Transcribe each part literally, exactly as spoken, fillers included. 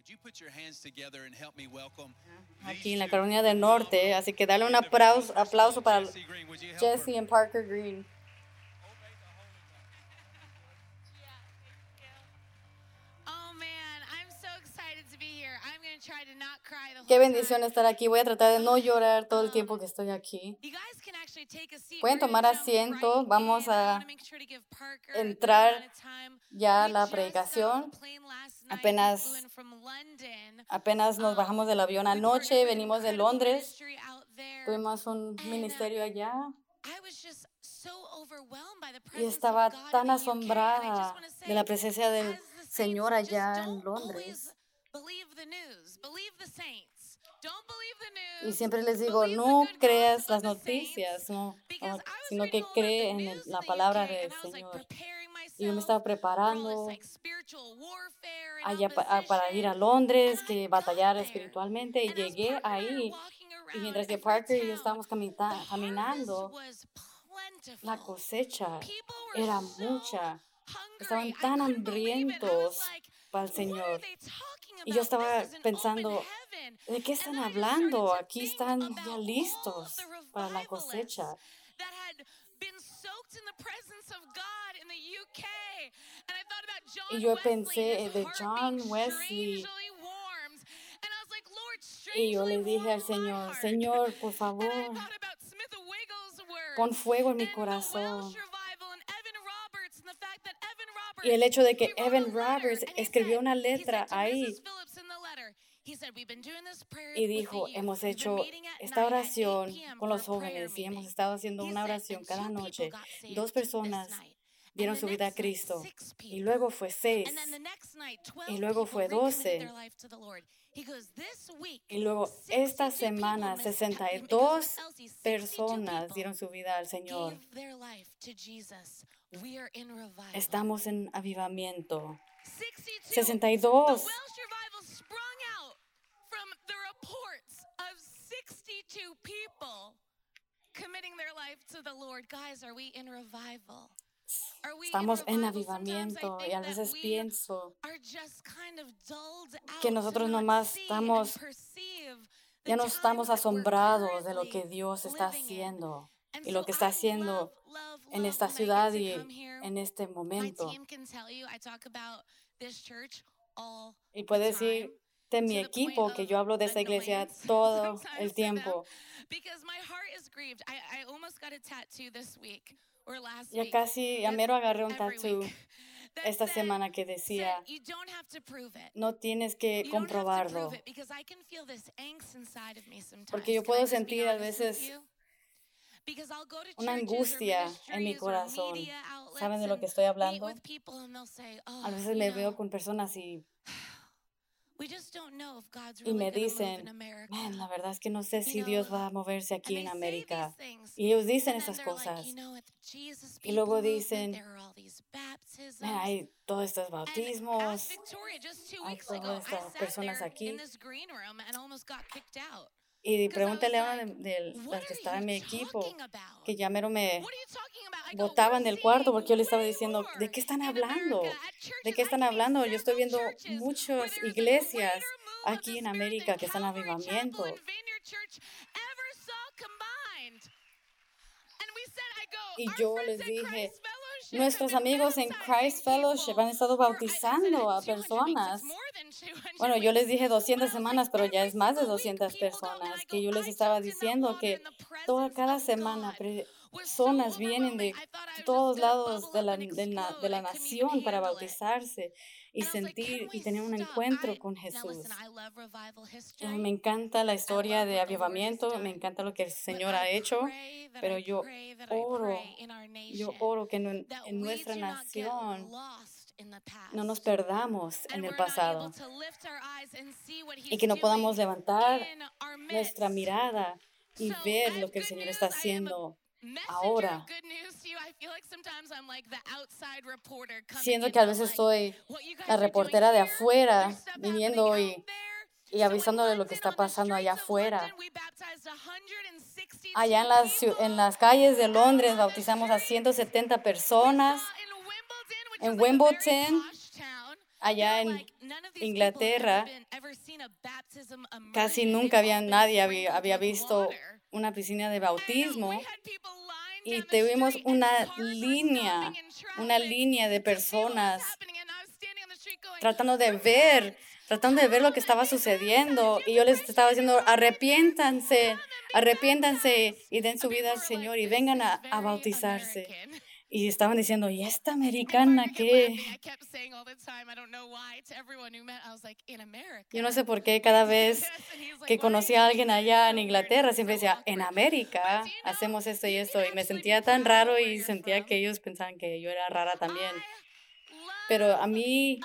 Aquí en la Carolina del Norte, así que dale un aplauso, aplauso para Jesse y Parker Green. Qué bendición estar aquí. Voy a tratar de no llorar todo el tiempo que estoy aquí. Pueden tomar asiento. Vamos a entrar ya a la predicación. Apenas, apenas nos bajamos del avión anoche. Venimos de Londres. Tuvimos un ministerio allá. Y estaba tan asombrada de la presencia del Señor allá en Londres. Y siempre les digo, no creas las noticias, no, no, sino que cree en el- la palabra del Señor. Y yo me estaba preparando allá pa- a- para ir a Londres, que batallar espiritualmente, y llegué ahí. Y mientras que Parker y yo estábamos camita- caminando, la cosecha era mucha. Estaban tan hambrientos para el Señor. Y yo estaba pensando, ¿de qué están hablando? Aquí están ya listos para la cosecha. Y yo pensé de John Wesley. Y yo le dije al Señor, Señor, por favor, pon fuego en mi corazón. Y el hecho de que Evan Roberts escribió una letra ahí y dijo, hemos hecho esta oración con los jóvenes y hemos estado haciendo una oración cada noche. Dos personas dieron su vida a Cristo y luego fue seis y luego fue doce. Y luego esta semana sesenta y dos personas dieron su vida al Señor. Estamos en avivamiento. sesenta y dos. Estamos en avivamiento y a veces pienso que nosotros nomás estamos, ya no estamos asombrados de lo que Dios está haciendo y lo que está haciendo en esta ciudad y en este momento. Y puede decir de mi equipo que yo hablo de esta iglesia todo el tiempo. Ya casi, ya mero agarré un tattoo esta semana que decía, no tienes que comprobarlo. Porque yo puedo sentir a veces una angustia en mi corazón. ¿Saben de lo que estoy hablando? A veces me veo con personas y, y me dicen, man, la verdad es que no sé si Dios va a moverse aquí en América. Y ellos dicen esas cosas. Y luego dicen, man, hay todos estos bautismos, hay todas estas personas aquí. Y pregúntale a una de, de las que estaba en mi equipo, que ya mero me botaban del cuarto porque yo le estaba diciendo, ¿de qué están hablando? ¿De qué están hablando? Yo estoy viendo muchas iglesias aquí en América que están en avivamiento. Y yo les dije, nuestros amigos en Christ Fellowship han estado bautizando a personas. Bueno, yo les dije doscientas semanas, pero ya es más de doscientas personas, que yo les estaba diciendo que toda, cada semana personas vienen de todos lados de la, de, la, de la nación para bautizarse y sentir y tener un encuentro con Jesús. Me encanta la historia de avivamiento, me encanta lo que el Señor ha hecho, pero yo oro, yo oro que en, en nuestra nación no nos perdamos en el pasado y que no podamos levantar nuestra mirada y ver lo que el Señor está haciendo ahora. Siento que a veces soy la reportera de afuera, viniendo y, y avisándole lo que está pasando allá afuera. Allá en las, en las calles de Londres bautizamos a ciento setenta personas. En Wimbledon, allá en Inglaterra, casi nunca había nadie había, había visto una piscina de bautismo y tuvimos una línea, una línea de personas tratando de ver, tratando de ver lo que estaba sucediendo. Y yo les estaba diciendo, arrepiéntanse, arrepiéntanse y den su vida al Señor y vengan a, a bautizarse. Y estaban diciendo, ¿y esta americana qué? Yo no sé por qué cada vez que conocí a alguien allá en Inglaterra, siempre decía, en América hacemos esto y esto. Y me sentía tan raro y sentía que ellos pensaban que yo era rara también. Pero a mí,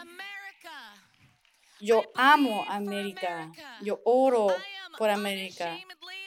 yo amo América. Yo oro por América.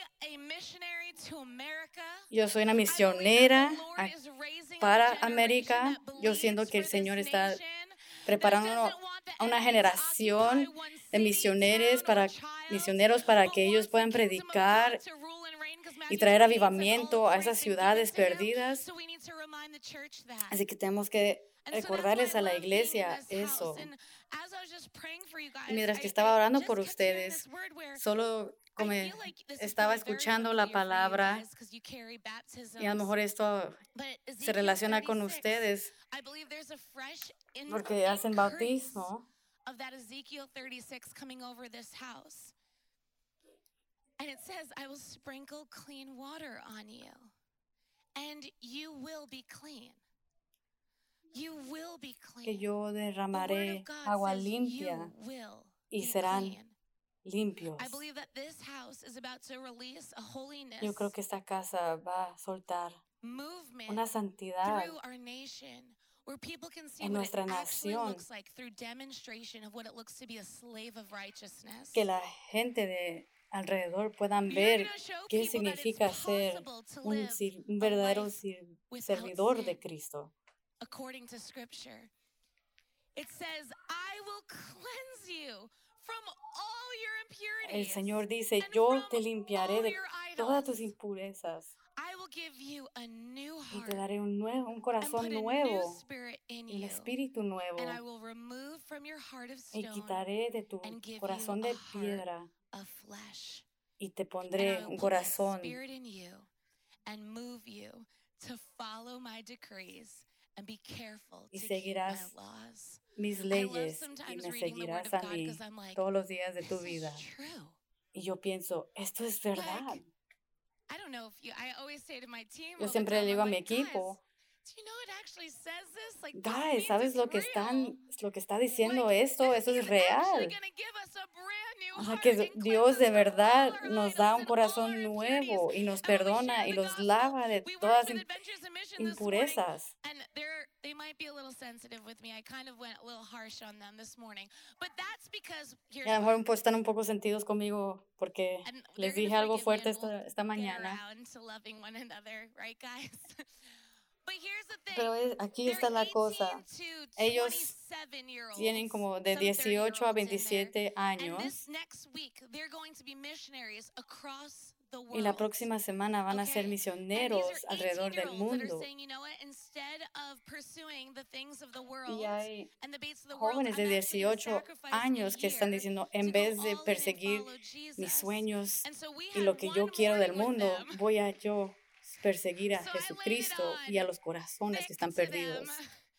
Yo soy una misionera para América. Yo siento que el Señor está preparando a una generación de misioneros para, misioneros para que ellos puedan predicar y traer avivamiento a esas ciudades perdidas. Así que tenemos que recordarles a la iglesia eso. Mientras que estaba orando por ustedes, solo como estaba escuchando la palabra, y a lo mejor esto se relaciona con ustedes, porque hacen bautismo. And it says, I will sprinkle clean water on you, and you will be clean. You will be clean. Que yo derramaré agua limpia y serán limpios. I believe that this house is about to release a holiness. Yo creo que esta casa va a soltar una santidad through our nation, where people can see en what nuestra it actually nación, looks like through demonstration of what it looks to be a slave of righteousness. que la gente de alrededor puedan ver qué significa ser un, un verdadero servidor de Cristo. According to Scripture, it says, I will cleanse you from all your impurities. El Señor dice, yo te limpiaré de todas tus impurezas. I will give you a new Y heart te daré un, nuevo, un corazón nuevo, un espíritu nuevo. and I will remove from your heart of Y stone quitaré de tu and give corazón you de a heart piedra of flesh. y te And pondré I will un put my corazón. spirit in you and move you to follow my decrees and be careful Y to keep my seguirás laws. mis I love leyes y sometimes me reading the word seguirás of a God mí because I'm like, todos los días de tu this vida. is true. Y yo pienso, esto es verdad. I don't know if you, I always say to my team, Yo all the siempre le time, digo I'm a mi like, guys, equipo, do you know it actually says this? Like, this guys, means ¿sabes it's lo que real. están, lo que está diciendo Like, esto? that Eso es he's actually real. gonna give us a brand new O sea, heart que and Dios cleanse de us from verdad all our nos idols da un and all corazón our nuevo y nos impurities. And when we perdona share y the los gospel, lava de we worked todas with im- Adventures in Mission this morning, impurezas. and they're they might be a little sensitive with me. I kind of went a little harsh on them this morning, but that's because Y here's a lo why. mejor pues, están un poco sentidos conmigo porque And les they're dije gonna algo forgive me, fuerte and we'll esta, esta get mañana. around to loving one another, right, guys? But here's the thing. Pero es- aquí They're está la cosa. eighteen to Ellos twenty-seven year olds, tienen como de some dieciocho a thirty-year-olds in there. veintisiete And años this next week, they're going to be missionaries across the world. y la próxima semana van a ser Okay. misioneros And these are alrededor del eighteen-year-olds that are mundo. saying, you know what, instead of pursuing the things of the world Y hay and the baits of the world, jóvenes de I'm actually gonna dieciocho sacrifice a años que están year diciendo, to en go vez de all in and perseguir follow mis Jesus. sueños And so we y had lo que yo one quiero del morning with mundo, them. voy a yo perseguir a So I laid it Jesucristo on y a los corazones que thick están to them. perdidos.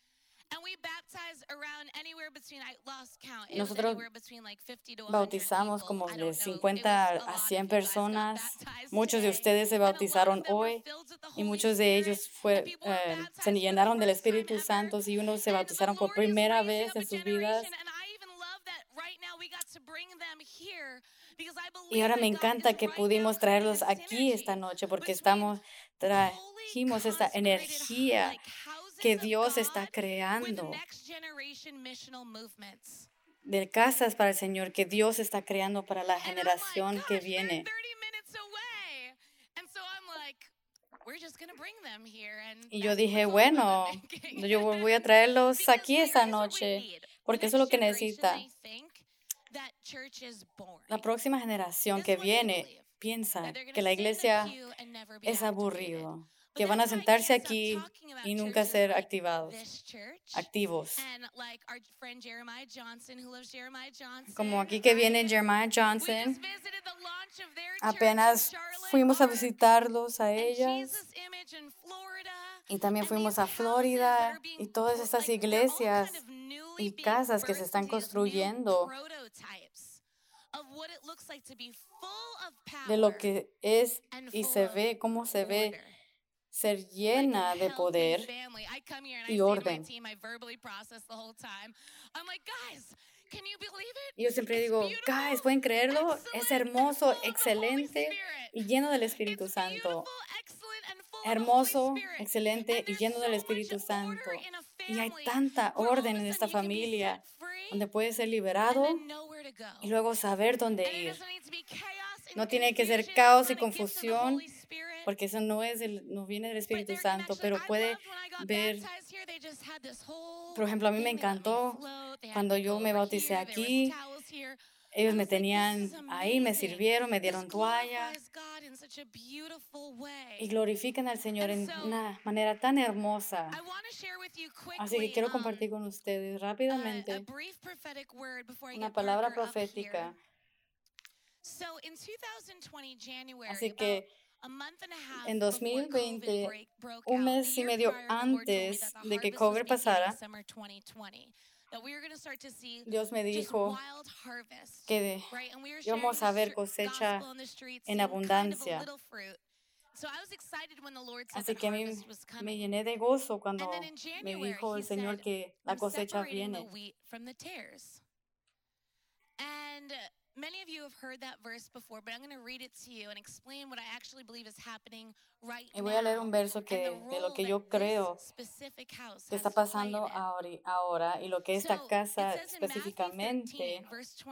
And we baptized around anywhere between, I lost count. It was Nosotros anywhere between like fifty to one hundred bautizamos people. como I de don't know. It cincuenta was a a lot cien of you guys got personas. baptized Muchos de today. ustedes se And a lot of bautizaron them were hoy filled with the y Holy muchos de Spirit. ellos And fue, people were eh, baptized se for the llenaron del first time Espíritu ever. Santo y unos se And the bautizaron por Lord is primera raising vez up a en sus vidas. generation. And I even love that right now we got to bring them here because I Y believe ahora that me God encanta is que right now pudimos creating traerlos a aquí esta synergy noche porque between estamos holy, trajimos esta consecrated, energía like que houses of Dios está God with creando next generation missional movements. de casas para el Señor que Dios está creando para la And I'm like, generación gosh, que they're viene. thirty minutes away. And so I'm like, we're just going to bring them here. And Y yo that's dije, the call that bueno, I'm making. yo voy a traerlos Because aquí here's esta what we noche need. The porque eso next es lo que generation, necesita. they think that church is boring. La próxima generación This que is what they viene believe. piensa That they're going que to la sit in a iglesia pew and never be es activated. aburrido. que van a sentarse aquí y nunca ser activados, activos. Como aquí que viene Jeremiah Johnson, apenas fuimos a visitarlos a ellas y también fuimos a Florida y todas estas iglesias y casas que se están construyendo de lo que es y se ve, cómo se ve ser llena de poder y orden. Y yo siempre digo, guys, ¿pueden creerlo? Es hermoso, excelente y lleno del Espíritu Santo. Hermoso, excelente y lleno del Espíritu Santo. Y hay tanta orden en esta familia donde puede ser liberado y luego saber dónde ir. No tiene que ser caos y confusión, porque eso no es el, no viene del Espíritu Santo, pero puede ver. Por ejemplo, a mí me encantó cuando yo me bauticé aquí. Ellos me tenían ahí, me sirvieron, me dieron toallas y glorifican al Señor en una manera tan hermosa. Así que quiero compartir con ustedes rápidamente una palabra profética. Así que en dos mil veinte, un mes y medio antes de que COVID pasara, Dios me dijo que íbamos a ver cosecha en abundancia. Así que a mí me llené de gozo cuando me dijo el Señor que la cosecha viene. Many of you have heard that verse before, but I'm going to read it to you and explain what I actually believe is happening right now. Y voy a leer un verso que de lo que yo creo que está pasando ahora, ahora y lo que esta casa específicamente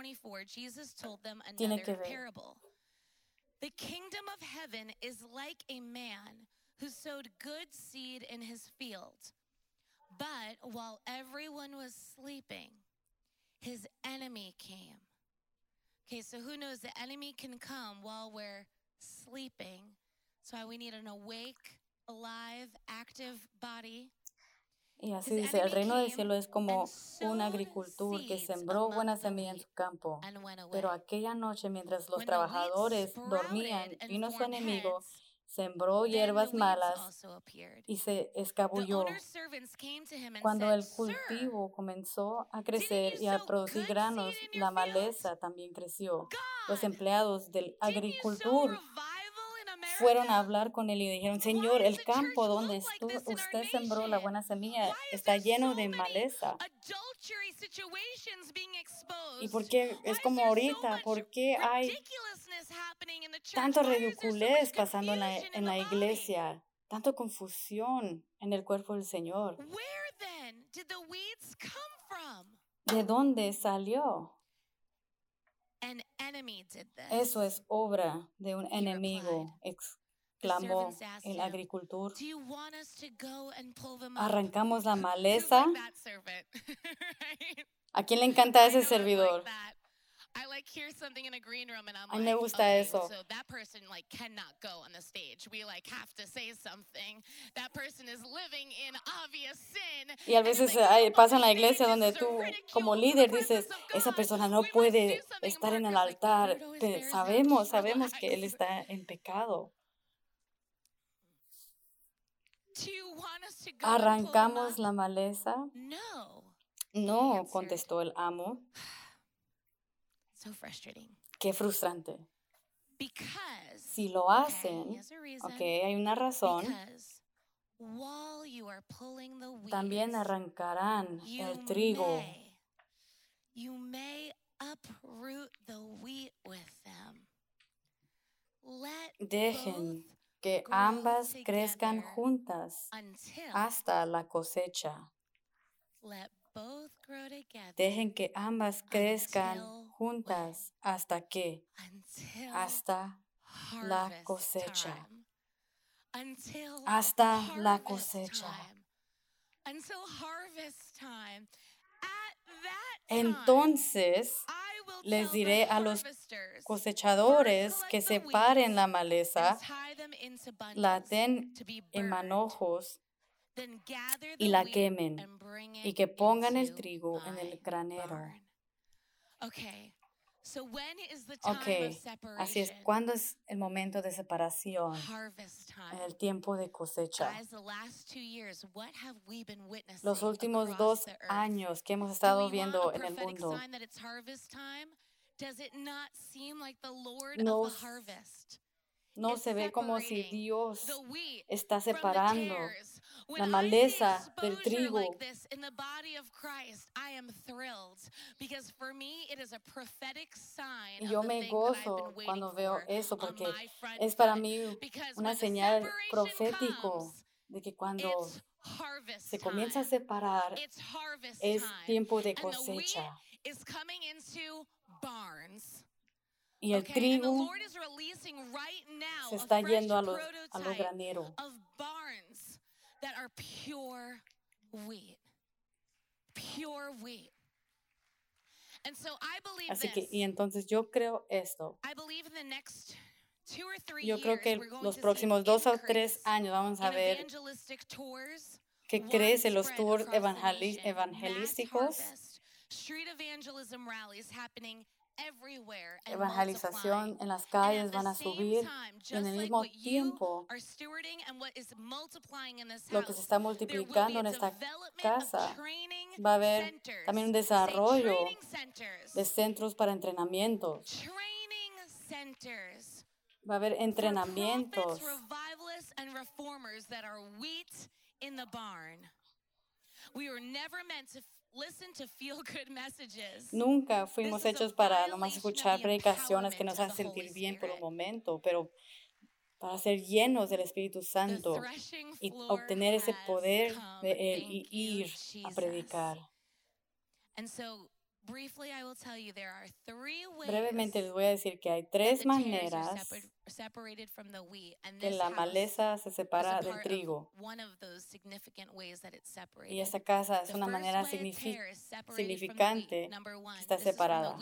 tiene que ver. The kingdom of heaven is like a man who sowed good seed in his field. But while everyone was sleeping, his enemy came. Okay, so who knows the enemy can come while we're sleeping. So we need an awake, alive, active body. Y así dice, el reino del cielo es como un agricultor que sembró buena semilla en su campo. Pero aquella noche, mientras los trabajadores dormían, vino su enemigo, sembró hierbas malas y se escabulló. Cuando el cultivo comenzó a crecer y a producir granos, la maleza también creció. Los empleados del agricultor fueron a hablar con él y dijeron, Señor, el campo donde estu- usted sembró la buena semilla está lleno de maleza. ¿Y por qué es como ahorita? ¿Por qué hay tanto ridiculez pasando en la, en la iglesia? Tanto confusión en el cuerpo del Señor. ¿De dónde salió? Eso es obra de un enemigo, exclamó el agricultor. Arrancamos la maleza. ¿A quién le encanta ese servidor? A mí me gusta eso. Y a veces hay, pasa en la iglesia donde tú como líder dices, esa persona no puede estar en el altar. Pero sabemos, sabemos que él está en pecado. ¿Arrancamos la maleza? No, contestó el amo. So frustrating. Qué frustrante. Because, si lo hacen, okay, reason, okay, hay una razón, weeds, también arrancarán el trigo. May, you may uproot the wheat with them. Let Dejen que ambas crezcan juntas hasta la cosecha. Let both grow together. Dejen que ambas crezcan juntas hasta que hasta la cosecha. Hasta la cosecha. Entonces les diré a los cosechadores que separen la maleza, la aten en manojos y la quemen, y que pongan el trigo en el granero. Ok, así es. ¿Cuándo es el momento de separación? En el tiempo de cosecha. Los últimos dos años que hemos estado viendo en el mundo, no, no se ve como si Dios está separando la maleza del trigo. Y yo me gozo cuando veo eso porque es para mí una señal profético de que cuando se comienza a separar es tiempo de cosecha. Y el trigo se está yendo a los, a los graneros. Así que, y entonces yo creo esto. Yo creo que los próximos dos o tres años vamos a ver que crecen los tours evangeli- evangelísticos, evangelización en las calles van a subir y en el mismo tiempo lo que se está multiplicando en esta casa va a haber también un desarrollo de centros para entrenamientos. Va a haber entrenamientos. Nunca fuimos hechos para nomás escuchar predicaciones que nos hacen sentir bien por un momento, pero para ser llenos del Espíritu Santo y obtener ese poder de Él y ir a predicar. Brevemente les voy a decir que hay tres maneras que la maleza se separa del trigo. Y esta casa es una manera signific- significante que está separada.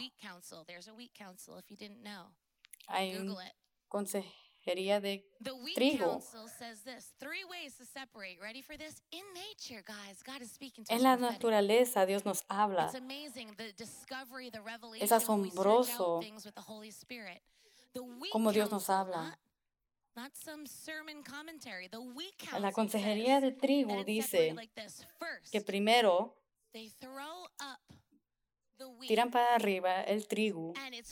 Hay una consejería de trigo. En la naturaleza Dios nos habla. Es asombroso cómo Dios nos habla. La consejería de trigo dice que primero tiran para arriba el trigo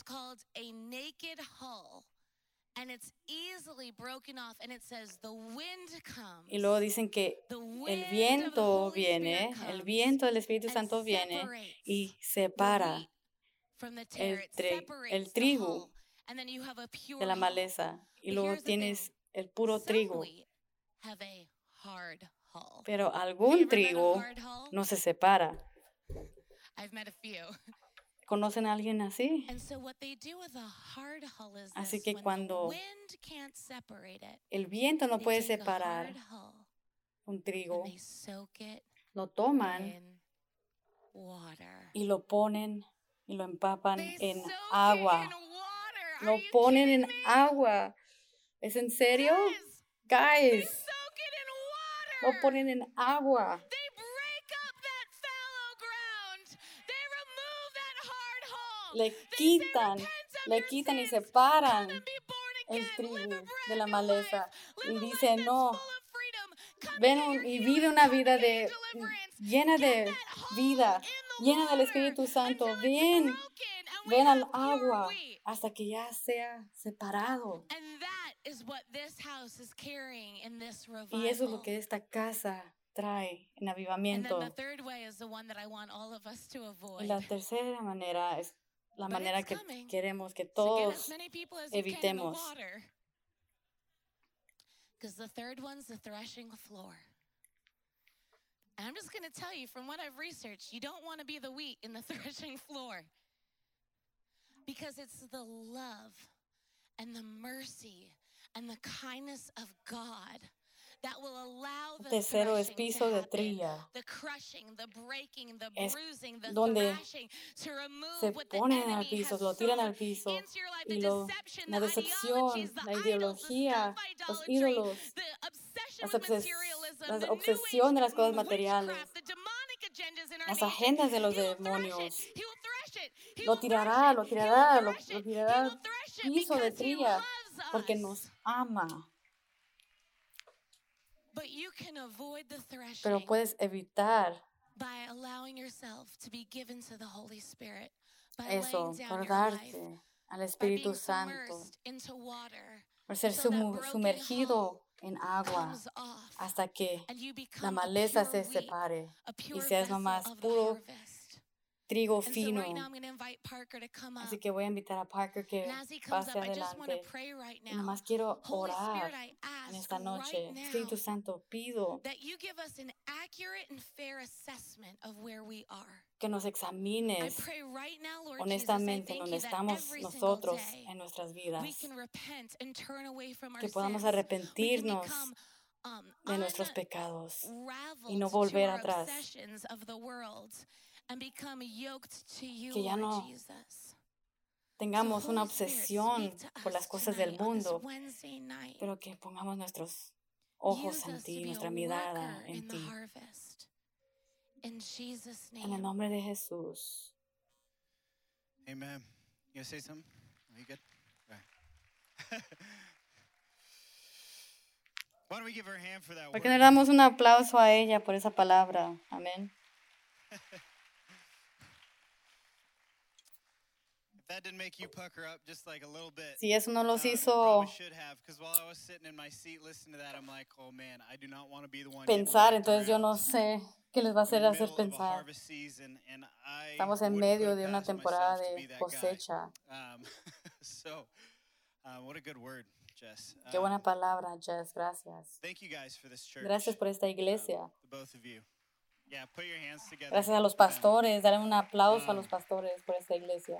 y luego dicen que el viento viene, el viento del Espíritu Santo viene y separa el, tri- el trigo de la maleza y luego tienes el puro trigo. Pero algún trigo no se separa. ¿Conocen a alguien así? Así que cuando el viento no puede separar un trigo, lo toman y lo ponen y lo empapan en agua. Lo ponen en agua. ¿Es en serio? Guys, lo ponen en agua. Le quitan, le quitan y separan el trigo de la maleza y dicen, no, ven un, y vive una vida de, llena de vida, llena del Espíritu Santo. Ven, ven al agua hasta que ya sea separado. Y eso es lo que esta casa trae en avivamiento. Y la tercera manera es la manera que queremos que todos evitemos. Because the third one's the threshing floor. And I'm just going to tell you from what I've researched, you don't want to be the wheat in the threshing floor. Because it's the love and the mercy and the kindness of God Tercero es piso de trilla. Es donde se ponen al piso, lo tiran al piso. Y lo, la decepción, la ideología, los ídolos, las, obses, la obsesión de las cosas materiales, las agendas de los demonios. Lo tirará, lo tirará, lo, lo tirará al piso de trilla porque nos ama. Pero puedes evitar eso por darte al Espíritu Santo, por ser sumergido en agua hasta que la maleza se separe y seas nomás puro trigo fino. Así que voy a invitar a Parker que pase adelante. Y nomás quiero orar en esta noche. Espíritu Santo, pido que nos examines honestamente donde estamos nosotros en nuestras vidas. Que podamos arrepentirnos de nuestros pecados y no volver atrás. Que ya no tengamos una obsesión por las cosas del mundo, pero que pongamos nuestros ojos en ti, nuestra mirada en ti. En el nombre de Jesús. Amen. You gonna say something? Are you good? All right. Why don't we give her a hand for that word? ¿Por qué no le damos un aplauso a ella por esa palabra? Amén. That didn't make you pucker up just like a little bit. Si eso no los Um, hizo probably should have, because while I was sitting in my seat listening to that, I'm like, oh man, I do not want to be the one getting pensar, whacked entonces yo around. no sé qué les va a We're in hacer the hacer middle of a pensar. harvest season, and I Estamos en wouldn't medio put de it una past temporada myself to de be that cosecha. guy. Um, so, uh, what a good word, Jess. Qué buena Um, palabra, Jess. Gracias. Thank you guys for this church. Gracias por esta um, iglesia. the both of you. Yeah, put your hands together. Gracias a los for them. pastores. Dale un aplauso a los Um, pastores por esta iglesia.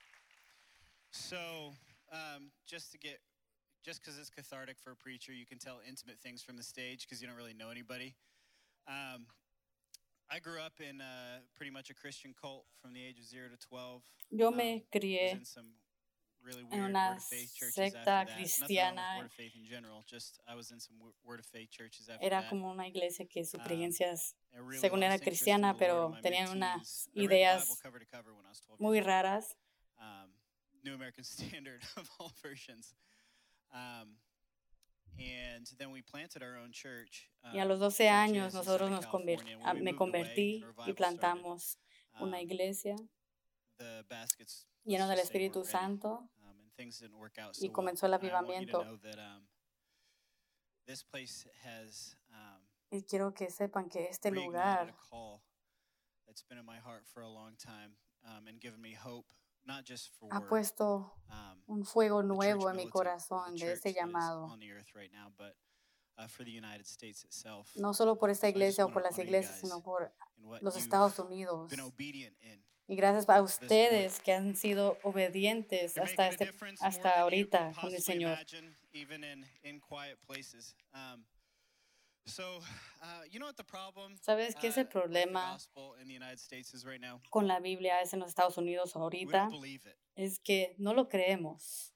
So, um, just to get, just because it's cathartic for a preacher, you can tell intimate things from the stage because you don't really know anybody. Um, I grew up in uh, pretty much a Christian cult from the age of zero to twelve. Yo Um, me was crié in some really en weird una Word of Faith churches secta after that. Nothing wrong with cristiana. Word of Faith in general. Just I was in some wo- Word of Faith churches after Era that. como una iglesia que sus Um, creencias, I really según era lost interest in cristiana, the Lord pero in my tenían mid-teens. unas I read the Bible ideas cover to cover when I was twelve muy years old. raras. Um, New American Standard of all versions. Um, and then we planted our own church. Y a um, los doce churches años in nosotros Southern nos conver- California. ah, When we me moved away convertí and y revival started, plantamos una um, iglesia the baskets, lleno let's del just say, Espíritu weren't ready. Santo Um, and things didn't work out y so well. comenzó el And I want you to avivamiento. know that um, this place has um, Y quiero que sepan que este reignited lugar a call that's been in my heart for a long time, um, and given me hope, not just for ha puesto um, un fuego the church nuevo en mi militant, or the corazón de church este that is llamado. on the earth right now, but uh, for the United States itself. No solo por Um, esta so I just iglesia o want por to las honor you iglesias, guys sino por in what los you've Estados Unidos. been obedient in. Y gracias a this point. ustedes que han sido obedientes You're hasta, making a este, difference more hasta than you ahorita can con el possibly Señor. imagine, even in, in quiet places. Um, so, uh, you know what the problem ¿Sabes qué es el uh, with the problema gospel in the United States is right now? con la Biblia es en los Estados Unidos We ahorita? don't believe it. Es que no lo creemos.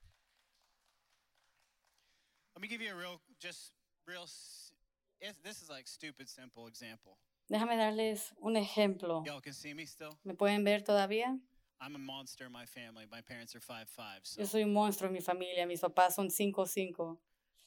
Let me give you a real, just real, s- it's, this is like stupid simple example. Déjame darles un ejemplo. Y'all can see me still? ¿Me pueden ver todavía? I'm a monster in my family. My parents are five five, so Yo soy un monstruo en mi familia. Mis papás son cinco cinco.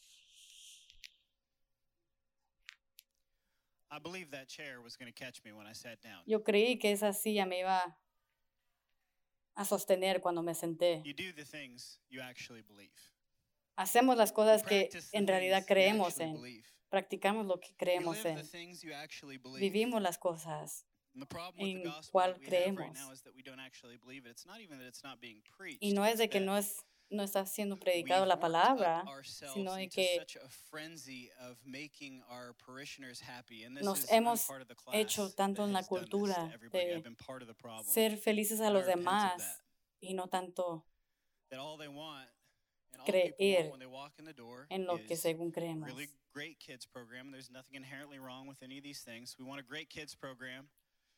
I believe that chair was going to catch me when I sat down. Yo creí que esa silla me iba a sostener cuando me senté. You do the things you actually believe. Hacemos las You cosas que practice the en realidad things you creemos actually en. believe. Practicamos lo que You creemos live the en. things you actually believe. Vivimos las cosas And the problem with the en gospel cual that we have right creemos. now is that we don't actually believe it. It's not even that it's not being preached. Y no es it's de que that no, es, no está siendo we've predicado la worked palabra, up ourselves sino de into que such a frenzy of making our parishioners happy. And this nos is, I'm hemos part of the class hecho tanto that en la has done this to cultura everybody. de I've been part of the problem. ser felices a I los repent of demás that. y no tanto That all they want And all people creer want when they walk in the door en lo que is según creemos. really great kids program. There's nothing inherently wrong with any of these things. We want a great kids program.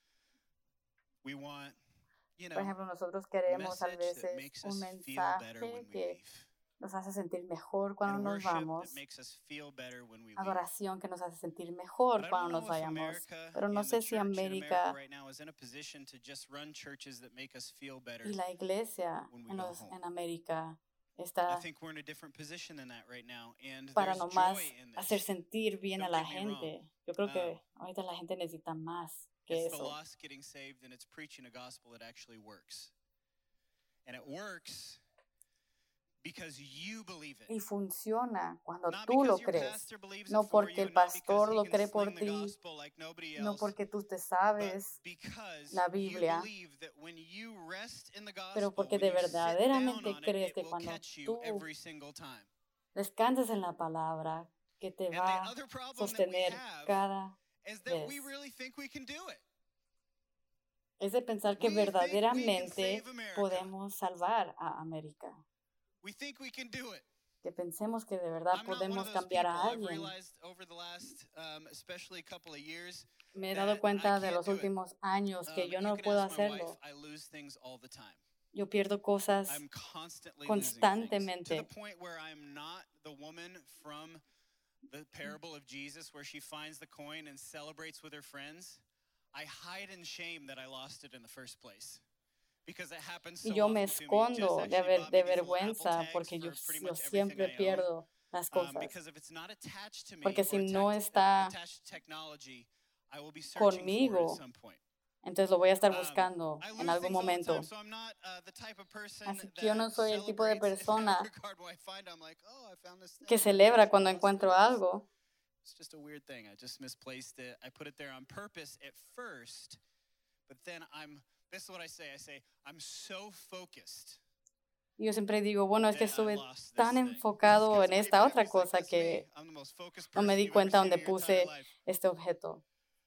We want, you know, Por ejemplo, nosotros queremos a message that veces makes un us feel better when mensaje we que leave. nos hace sentir mejor cuando And nos worship vamos, that makes us feel better when we leave. adoración que nos hace sentir mejor But I cuando don't know nos if vayamos. America Pero no and the sé si church in America América right now is in a position to just run churches that make us feel better. y la iglesia when we en, go los- home. en América I está think we're in a different position than that right now, and para there's nomás joy in hacer this. sentir bien a Don't la get me wrong. gente. Yo creo que Um, ahorita la gente necesita más que It's the eso. lost getting saved, and it's preaching a gospel that actually works. And it works because you believe it. Y funciona cuando Not tú lo because your crees. pastor believes No it for porque you, el not because pastor he lo can cree por sling the ti, gospel like nobody no else, porque tú te but sabes, because la you Biblia, believe that when you rest in the pero gospel, porque when de you sit down verdaderamente on it, crees it que will cuando catch you tú every single time. descansas en la palabra, que te And the va a other problem that we sostener have cada is that we vez. really think we can do it. Es de pensar que We think we can verdaderamente save America. podemos salvar a América. We think we can do it. Que pensemos que de verdad I'm not one podemos of those cambiar people. a I've alguien. realized over the last, um, especially couple of years, Me he that dado I cuenta de can't los do it. últimos años que Um, yo you no can puedo ask my wife, hacerlo. I lose things all the time. Yo pierdo cosas I'm constantly losing things to the constantemente. point where I'm not the woman from the parable of Jesus where she finds the coin and celebrates with her friends. I hide in shame that I lost it in the first place. Because it happens so Y yo me often to me. Jess escondo de, actually ver- bought de me these little Apple vergüenza tags porque yo, for pretty yo much everything siempre I own. pierdo las Um, cosas. because if it's not attached to me Porque or si no attacked- está attached to technology, I will be searching for it conmigo, at some point. Entonces lo voy a estar Um, buscando I en lose algún things all the momento. time, so I'm not uh, the type of person Así que yo no that soy el tipo de celebrates in that persona regard when I find I'm like, oh, I found this thing. que and I celebra actually cuando lost it. encuentro I just- algo. It's just a weird thing. I just misplaced it. I put it there on purpose at first, but then I'm, this is what I say. I say, I'm so focused. Y yo siempre digo, bueno, es que that I estuve lost this tan thing. enfocado Because en my esta family's otra like, cosa "That's que me. I'm the most focused no me person di you've ever cuenta seen donde in your entire puse life." este objeto.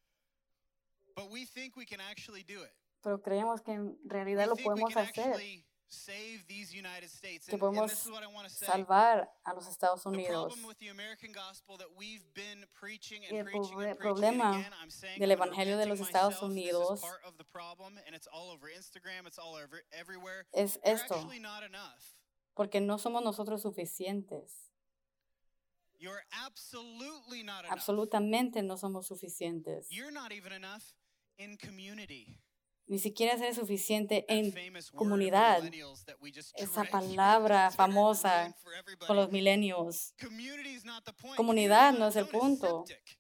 But we think we can actually do it. Pero creemos que en We realidad lo think we podemos can hacer, actually save these United States. que And, and podemos this is what I want to say. salvar a los Estados The Unidos. problem with the American gospel that we've been preaching Y and el preaching proble- and preaching problema and again, I'm saying del I'm Evangelio de repenting los Estados myself. This Unidos is part of the problem, and it's all over Instagram. It's all over everywhere. es You're esto, actually not enough. porque no somos nosotros suficientes. You're absolutely not enough. Absolutamente no somos suficientes. You're not even enough in community. Ni siquiera ser suficiente That en famous word of comunidad. millennials that we just Esa dragged through palabra this term famosa ruined for everybody. con los milenios. Community is not the point. Comunidad Community no on es el its own is punto. septic.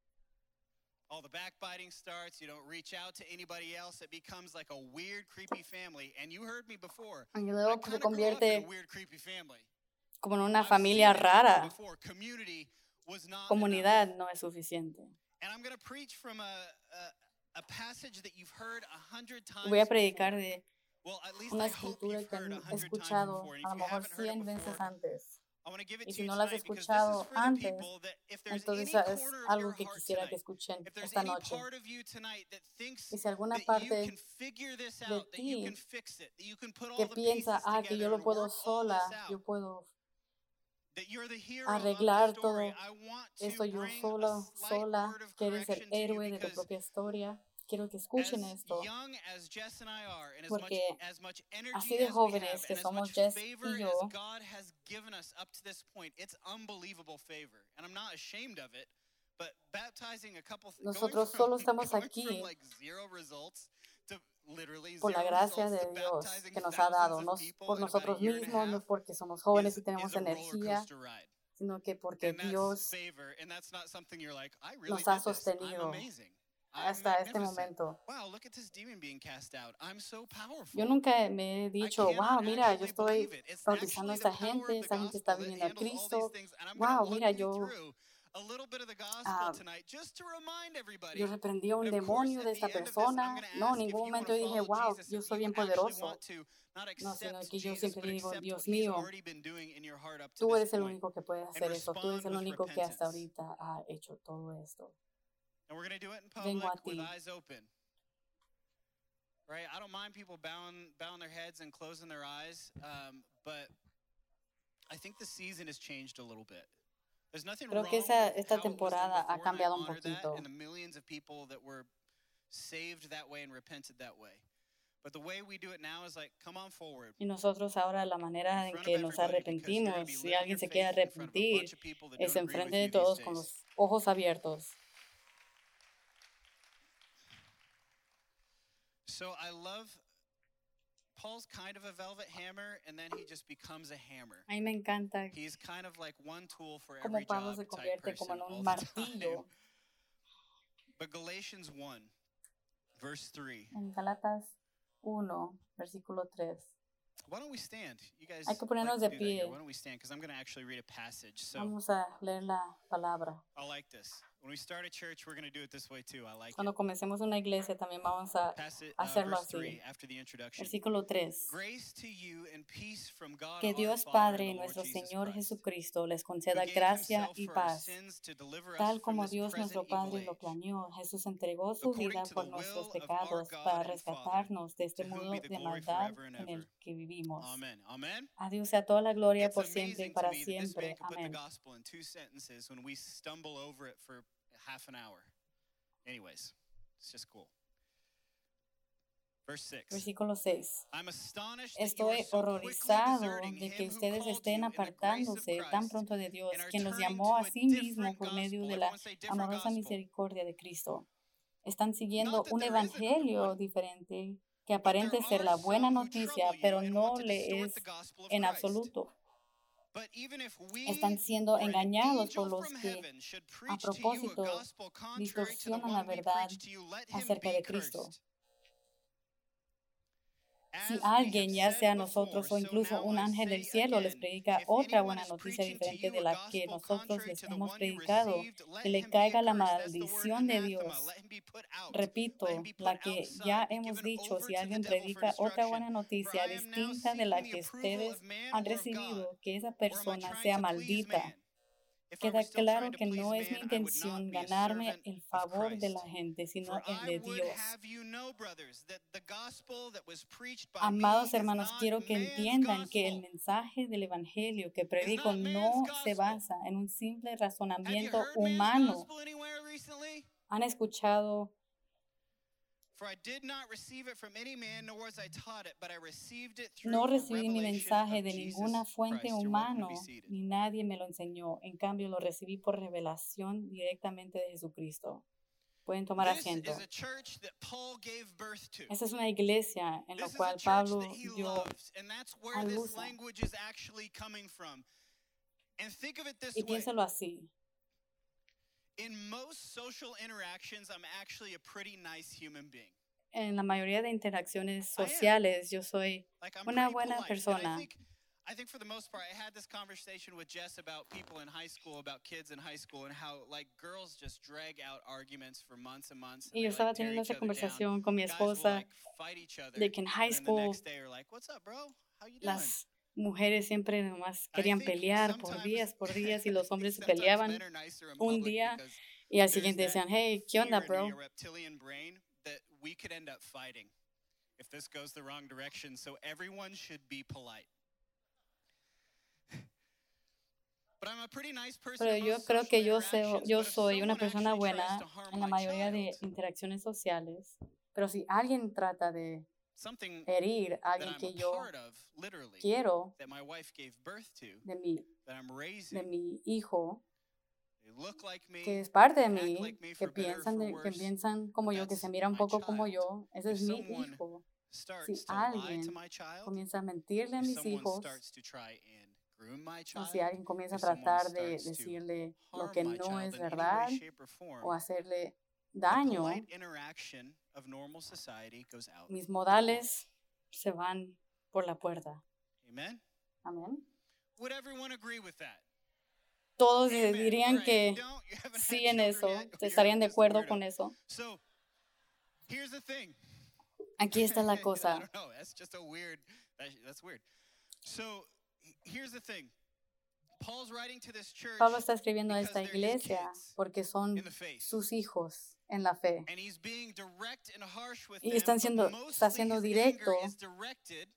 All the backbiting starts. You don't reach out to anybody else. It becomes like a weird, creepy family. And you heard me before. Y I luego kind se of grew up in convierte a weird, creepy family. como en una I've familia seen it happen rara. before. Community was not enough. Comunidad no es suficiente. And I'm going to preach from a, a, a passage that you've heard a hundred times Voy a predicar before. de Well, at least una I hope escritura you've que heard a han hundred times escuchado before. And a if lo you mejor haven't heard it cien veces before, antes. I want to give it Y to si you no lo has tonight because this is escuchado for the antes, people that if there's any entonces es corner of algo your que heart quisiera que tonight, escuchen if there's esta any noche. part of you tonight that thinks Y si alguna that you parte can figure this de out, that you ti can fix it, that you can put all que the piensa, pieces ah, que yo together lo and puedo work all sola, this yo out, puedo that you're the hero of arreglar the story, todo I want esto to yo bring solo, a slight sola, word of quieres ser correction to you héroe de tu because propia historia. Quiero que as escuchen esto, young as Jess and I are, and as much, porque as much energy así de as we have, jóvenes que and as somos much Jess favor y as yo, God has given us up to this point, it's unbelievable favor, and I'm not ashamed of it. But baptizing a couple, th- going nosotros from, solo estamos going from aquí like zero results to literally por la zero gracia results de to Dios baptizing que nos ha thousands dado, of no people por in about a nosotros year and a mismos, no half porque somos jóvenes is, y tenemos is a roller energía, coaster ride. sino que porque And that's Dios favor, and that's not something you're like, I really nos ha did this. I'm sostenido amazing. I'm hasta este magnificent. momento. Wow, look at this demon being cast out. I'm so powerful. Yo nunca me he I dicho, wow, cannot mira, yo actually estoy believe it. It's bautizando a actually esta the power gente, of the esta gente está gospel that viniendo a handles all these Cristo. things. And I'm Wow, going to mira, walk you yo, through a little bit of the gospel ah, tonight just to remind everybody. yo reprendí a un And of course, demonio de at esta the end of this, I'm persona. going to No, en ask if ningún you want momento to dije, follow wow, Jesus, yo if soy you bien actually poderoso. want to not No, sino accept que yo Jesus, siempre but digo, accept Dios what he's mío, already been doing in your heart up to tú this eres el point único que puede and hacer eso. Tú eres respond el with único que hasta repentance. ahorita ha hecho todo esto. And we're going to do it in Vengo public a with ti. eyes open. Right? I don't mind people bowing, bowing their heads and closing their eyes, um, but I Creo que esa, esta temporada ha cambiado un poquito. Y nosotros ahora la manera en que nos arrepentimos, si alguien se quiere arrepentir, es enfrente de todos con los ojos abiertos. So I love Paul's kind of a velvet hammer, and then he just becomes a hammer. A mí me encanta He's kind of like one tool for cómo every Pablo job se type convierte como person en un all the time. martillo. But Galatians one, verse three. En Galatas uno, versículo tres. Why don't we stand? You guys Hay que ponernos like de to do that here. pie. Why don't we stand? Because I'm going to actually read a passage. So Vamos a leer la palabra. I like this. When we start a church, we're going to do it this way too. I like Cuando it. comencemos una iglesia también vamos a Pass it, uh, hacerlo verse así. three, after the introduction. Versículo tres. Grace to you and peace from God Que our Dios Father Padre and y the Lord nuestro Jesus Señor Christ, Jesucristo les who conceda gave gracia himself y for our paz. sins to deliver us Tal from como this Dios present nuestro Padre evil lo age. planeó, Jesús entregó su According vida to por the nuestros will of our pecados God para and Father, rescatarnos de este to whom mundo be the de glory maldad forever and en ever. el que vivimos. Amen. Amen. A Dios sea toda la gloria It's por siempre y amazing to para me that this man siempre. could put the Amén. gospel in two sentences when we stumble over it for half an hour. Anyways, it's just cool. Verse six. Versículo seis. I'm astonished that you are Estoy so quickly horrorizado deserting de him que who ustedes called estén you in the grace of apartándose tan Christ pronto de Dios, and are quien los turning llamó to a a sí mismo different por medio gospel. de la Everyone say different amorosa gospel. misericordia de Cristo. Están siguiendo Not that un there isn't another evangelio one, diferente que but there aparente ser are la buena some who noticia, trouble you pero and no want to le distort es the gospel of en Christ. absoluto. But even if we Están siendo or an engañados por angel los from que heaven should a preach to you a propósito gospel contrary to the distorsionan la one we verdad preach to you, let him acerca be de Cristo. cursed. Si As we have alguien, ya said sea before, nosotros o so incluso now un I ángel del say cielo les again, predica if otra anyone buena is noticia preaching to diferente you de a la que gospel nosotros contrary les to the hemos one you predicado, received, que let le him be caiga la accursed. That's the word maldición de anathema. Dios. Let him be put out. Repito, Let him be la put que ya outside, be hemos given dicho, over si to the alguien devil for predica otra destruction. buena For noticia I am now distinta de la seeking the que approval ustedes of man han or of God, recibido, que esa or am I persona trying sea to please maldita. man? If I Queda were still claro trying to que please no es mi man, I would not intención be a ganarme servant el of favor de la Christ. gente, sino For el I de would Dios. have you know, brothers, that the gospel that was preached by me Amados is hermanos, not quiero que man's entiendan que el gospel. mensaje del Evangelio que It's predico not man's no se gospel. basa en un simple Have you razonamiento heard man's humano. gospel anywhere recently? ¿Han escuchado? For I did not receive it from any man, nor was I taught it, but I received it through No a recibí mi revelation mensaje of de Jesus ninguna fuente Christ. You're welcome to humano, be seated. ni nadie me lo enseñó. En cambio, lo recibí por revelación directamente de Jesucristo. Pueden tomar This asiento. is a church that Paul gave birth to. Esta es una iglesia en la This is a cual church Pablo that he dio loves, and that's where a this luz. language is actually coming from. And think of it this Y way. piénsalo así. In most social interactions, I'm actually a pretty nice human being. En la mayoría de interacciones I am. sociales, yo soy Like I'm una pretty buena polite. And I persona. think, I think for the most part, I had this conversation with Jess about people in high school, about kids in high school, and how like girls just drag out arguments for months and months. And Y they, yo estaba like, tear teniendo each esa other down. conversación con mi Guys will esposa like fight each other, de que en high and then the school next day are like, "What's up, bro? How you doing?" las mujeres siempre nomás I querían think pelear por sometimes, días, por días, y los hombres se sometimes peleaban men are nicer in un public día because y al there's siguiente that decían, hey, ¿qué fear onda, in me, bro? a reptilian brain, that we could end up fighting if this goes the wrong direction. So everyone should be polite. But I'm a pretty nice person Pero in yo most creo social que yo, sé, interactions, yo but if soy una someone persona actually tries buena to harm en la my mayoría de child, interacciones sociales, pero si alguien trata de something herir a that alguien I'm que a yo part of, literally, quiero that my wife gave birth to, de mi, that I'm de raising, mi hijo, they look like me, que es parte de act mí, like me que for better or piensan, for de, que worse, piensan como but yo, que that's se mira un my poco como child. yo, ese If es mi someone hijo. starts Si to lie alguien to my child, comienza a mentirle a if mis someone hijos, starts to try and groom my o child, si alguien comienza a if someone tratar de starts to decirle lo harm que my no child es in any way, verdad shape, or o form, hacerle the daño, polite interaction of normal society goes out. mis modales se van por la puerta. Amen? Amén. Would everyone agree with that? Todos Amen. dirían All right, que if you don't, you haven't sí had en children eso, yet, or you're estarían de just a acuerdo weirdo. con eso. So, here's the thing. Aquí está la I cosa. don't know. That's just a weird. That, that's weird. So, h- here's the thing. Paul's writing to this church, Pablo está escribiendo a because esta they're his iglesia kids porque son in the faith. sus hijos en la fe. And he's being direct and harsh with Y them, están but siendo, está mostly siendo his directo anger is directed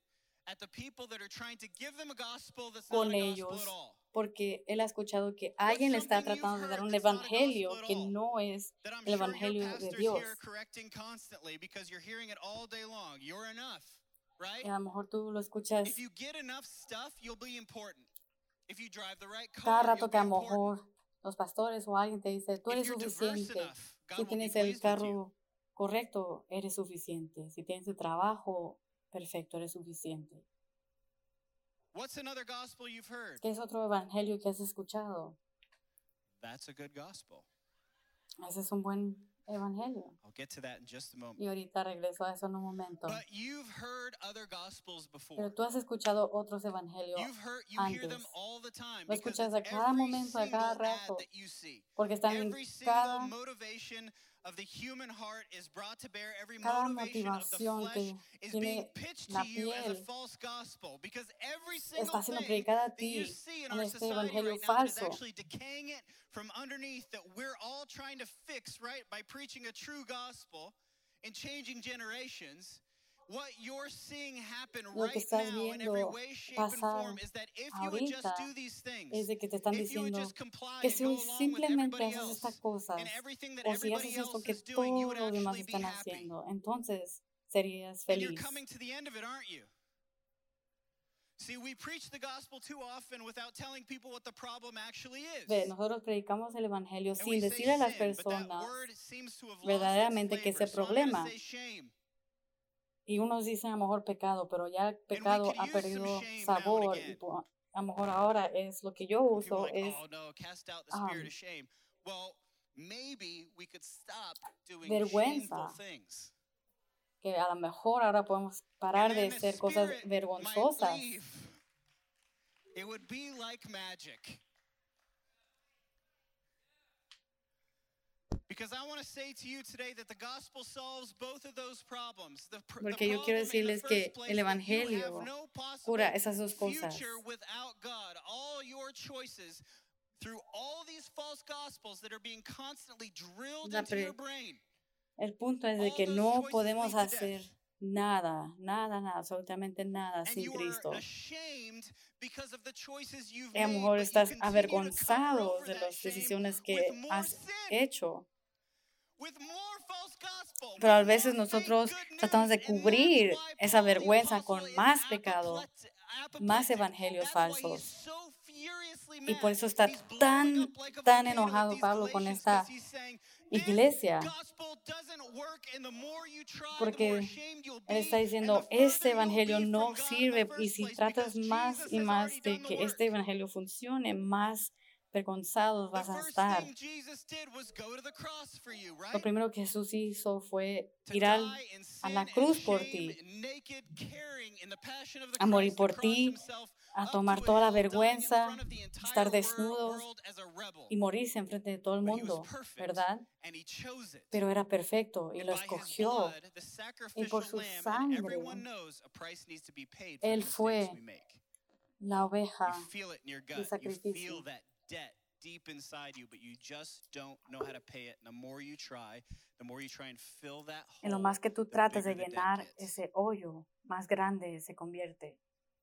at the people that are trying to give them a gospel that's con not a gospel ellos, at all. porque él ha escuchado que alguien le está tratando de dar un evangelio que no es That I'm el sure your evangelio de pastors Dios. here correcting constantly because you're hearing it all day long. You're enough, right? Y a lo mejor tú lo escuchas If you get enough stuff, you'll be important. If you drive the right cada car, rato you'll que be a lo important. mejor los pastores o alguien te dice, tú If eres you're diverse suficiente. enough, God Si will be tienes el pleased with you. carro correcto, eres suficiente. Si tienes el trabajo perfecto, eres suficiente. What's another gospel you've heard? ¿Qué es otro evangelio que has escuchado? That's a good gospel. Ese es un buen evangelio. I'll get to that in just a moment. Y ahorita regreso a eso en un momento. But you've heard other gospels before. Pero tú has escuchado otros evangelios You've heard, you hear them antes. all the time Lo because escuchas a it's cada every momento, a cada single ad rato, that you see. porque están en Every single cada, motivation of the human heart is brought to bear. Every cada motivation of the motivación flesh que is being tiene pitched la to you as a piel false gospel because every está single siendo thing predicada a that you ti see in en our este society evangelio right now that is falso. actually decaying it from underneath that we're all trying to fix, right, by preaching a true gospel and changing generations. What you're seeing happen Lo que right estás now in every viendo way, shape, and pasar form is that if you would just ahorita do these things, es de que te están if you would diciendo just comply que and si go along with simplemente everybody haces estas else cosas and everything that o si everybody haces esto else que is doing, you would todos los demás actually be están happy. haciendo, entonces serías And you're feliz. coming to the end of it, aren't you? See, we preach the gospel too often without telling people what the problem actually is. Ve, nosotros predicamos el evangelio And we sin say decirle a las sin, but that personas word seems to have lost verdaderamente its que flavor. ese So I'm going problema. to say shame. Y unos dicen a lo mejor pecado, pero ya el pecado could ha use some perdido shame now and sabor. Y again. po- a lo mejor ahora es lo que yo People are uso, like, es oh no, cast out the um, spirit of shame. Well, maybe we could stop doing vergüenza. shameful things. que a lo mejor ahora podemos parar And de then the hacer cosas spirit might vergonzosas. leave. It would be like magic. Because I want to say to you today that the gospel solves both of those problems. The, pr- the Porque yo quiero problem in the decirles que first place el that you evangelio have no possible cura esas dos cosas. future without God. All your choices through all these false gospels that are being constantly drilled La into pre- your brain. El punto es de All que those no choices podemos lead to hacer death. nada, nada, nada, absolutamente nada And sin you Cristo. are ashamed because of the choices you've Y a lo made, mejor but you estás continue to cover avergonzado over de that las shame decisiones with que more has sin. hecho. With more false gospel, Pero a with veces more fake nosotros good tratamos de news, and cubrir that's why esa Paul the vergüenza apostle con is más pecado, apoplectic- más apoplectic. evangelios That's why he's falsos. so furiously Y mad. por eso está He's blowing tan, up like a tan volcano at enojado these Pablo con Galatians esta 'cause he's saying, "This iglesia, gospel doesn't work, and the more you try, the more porque ashamed you'll él be, está and diciendo, the este further you'll evangelio be no from God in the sirve, y first si place, tratas because más Jesus y has más already de done the que work." este evangelio funcione, más avergonzados The vas a first estar. thing Jesus did was go to the cross for you, Lo right? primero que Jesús hizo fue To ir al- die in a sin la and cruz por shame, ti, naked, carrying in the passion of the a morir Christ, to por cross ti, himself a up tomar to a toda la hill, dying in vergüenza, front of the estar entire wor- desnudos world as a rebel. y morirse enfrente de todo el But he was mundo, perfect, ¿verdad? and he chose it. Pero era perfecto y And lo by his escogió. blood, the Y por sacrificial su lamb, and sangre, everyone knows a price needs to be paid for Él the mistakes fue we make. la oveja You feel it in your de gut. You sacrificio. feel that debt deep inside you, but you just don't know how to pay it. And the more you try, the more you try and fill that En lo hole, más que tú the trates de bigger the debt llenar gets. ese hoyo, más grande se convierte.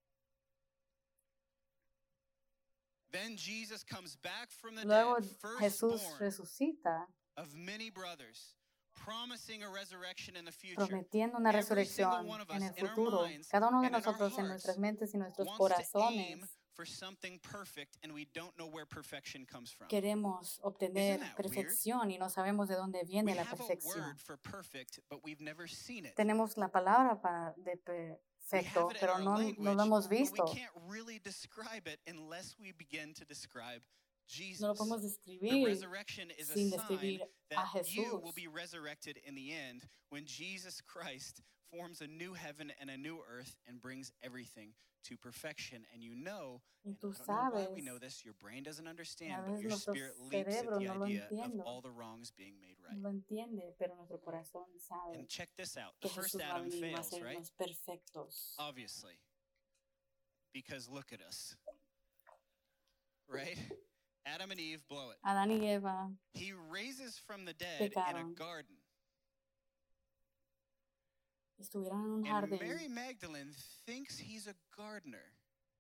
Then Jesus comes back from the Luego dead, Jesús firstborn resucita, of many brothers, promising a resurrection in the future. prometiendo una Every single resurrección one of en us, el in our futuro. minds Cada uno de and in our nosotros en hearts, nuestras mentes y nuestros wants to aim corazones for something perfect, and we don't know where perfection comes from. queremos obtener Isn't that weird? perfección y no sabemos de dónde We viene la have a perfección. word for perfect, but we've never seen it. Tenemos la palabra para de We perfecto, have it in pero our no, language, no lo hemos but we visto. can't really describe it unless we begin to describe Jesus. No lo podemos The describir resurrection is a sin sign describir a that you Jesús. will be resurrected in the end when Jesus Christ forms a new heaven and a new earth and brings everything to perfection. And you know, Y and tú I don't know why we sabes, know this, your brain doesn't a understand, but veces your nuestro spirit leaps at cerebro the no lo idea of entiende, all the wrongs being made right. no lo entiende, pero nuestro corazón sabe And check this out. que The first Jesús va a Adam venir y va a fails, right? hacernos perfectos. Obviously. Because look at us. Right? Adam and Eve blow it. Adán y Eva, He raises from the dead in a Pecaron. garden. estuvieron en un And jardín. Mary Magdalene thinks he's a gardener.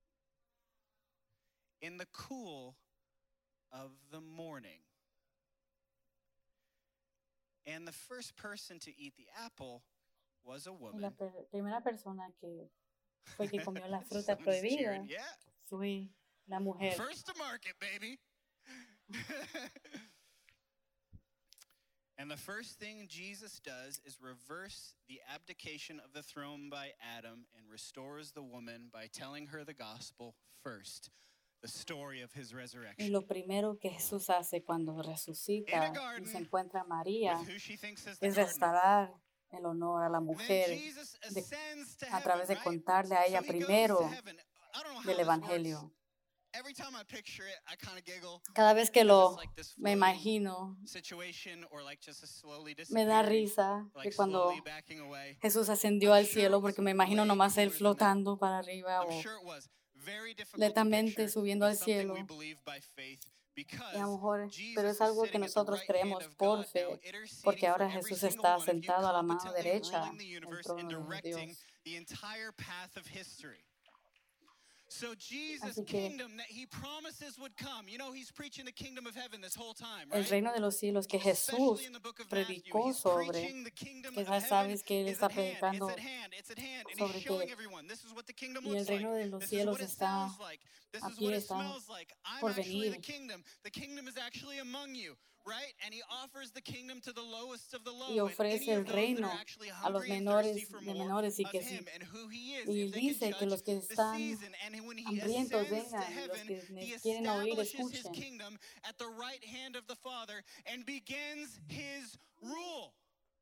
In the cool of the morning. And the first person to eat the apple was a Y la woman. per- primera persona que fue que comió la fruta prohibida Yeah. fue la mujer. First to market, baby. And the first thing Jesus does is reverse the abdication of the throne by Adam and restores the woman by telling her the gospel first, the story of his Y resurrection. lo primero que Jesús hace cuando resucita In a y garden se encuentra a María With who she thinks is the es gardener. restaurar el honor a la And then mujer Jesus de- ascends to a través de heaven, right? contarle a ella So he goes primero to heaven. I don't know how del this works. Evangelio. Every time I picture it, I kind of giggle. Cada vez que Because lo it's like this me floating imagino, situation or like just a slowly me da disappearing, risa like que cuando slowly backing away. Jesús ascendió al cielo, porque me imagino nomás él flotando para arriba I'm o sure it was very difficult to lentamente picture, subiendo but al something cielo. we believe by faith because Y a lo mejor, Jesus pero es is algo que sitting at the nosotros right hand creemos of por God fe, now, interceding porque for ahora every Jesús single está one of you, sentado a la mano competently derecha ruling the del universe trono and de directing Dios. the entire path of history. So Jesus' Así que kingdom that he promises would come. You know, he's preaching the kingdom of heaven this whole time, El right? reino de los cielos que Especially Jesús in the book of Matthew, predicó he's sobre, preaching the kingdom que of ya heaven sabes que él is está at hand, predicando it's at hand, it's at hand, and sobre he's showing que everyone, this is what the kingdom y el looks like, reino de los this is cielos what it está sounds like, this is aquí, what it está smells like. I'm por actually the venir. kingdom. The kingdom is actually among you, right? And he offers the kingdom to the lowest of the low, Y and ofrece any el of those that reino are actually a los hungry and thirsty menores for de more menores y of que si, him and who he is, y if they can dice que judge los que the están season. And when he hambrientos ascends to vengan y los heaven, que he ne- quieren oír establishes his escuchen. kingdom at the right hand of the Father and begins his rule.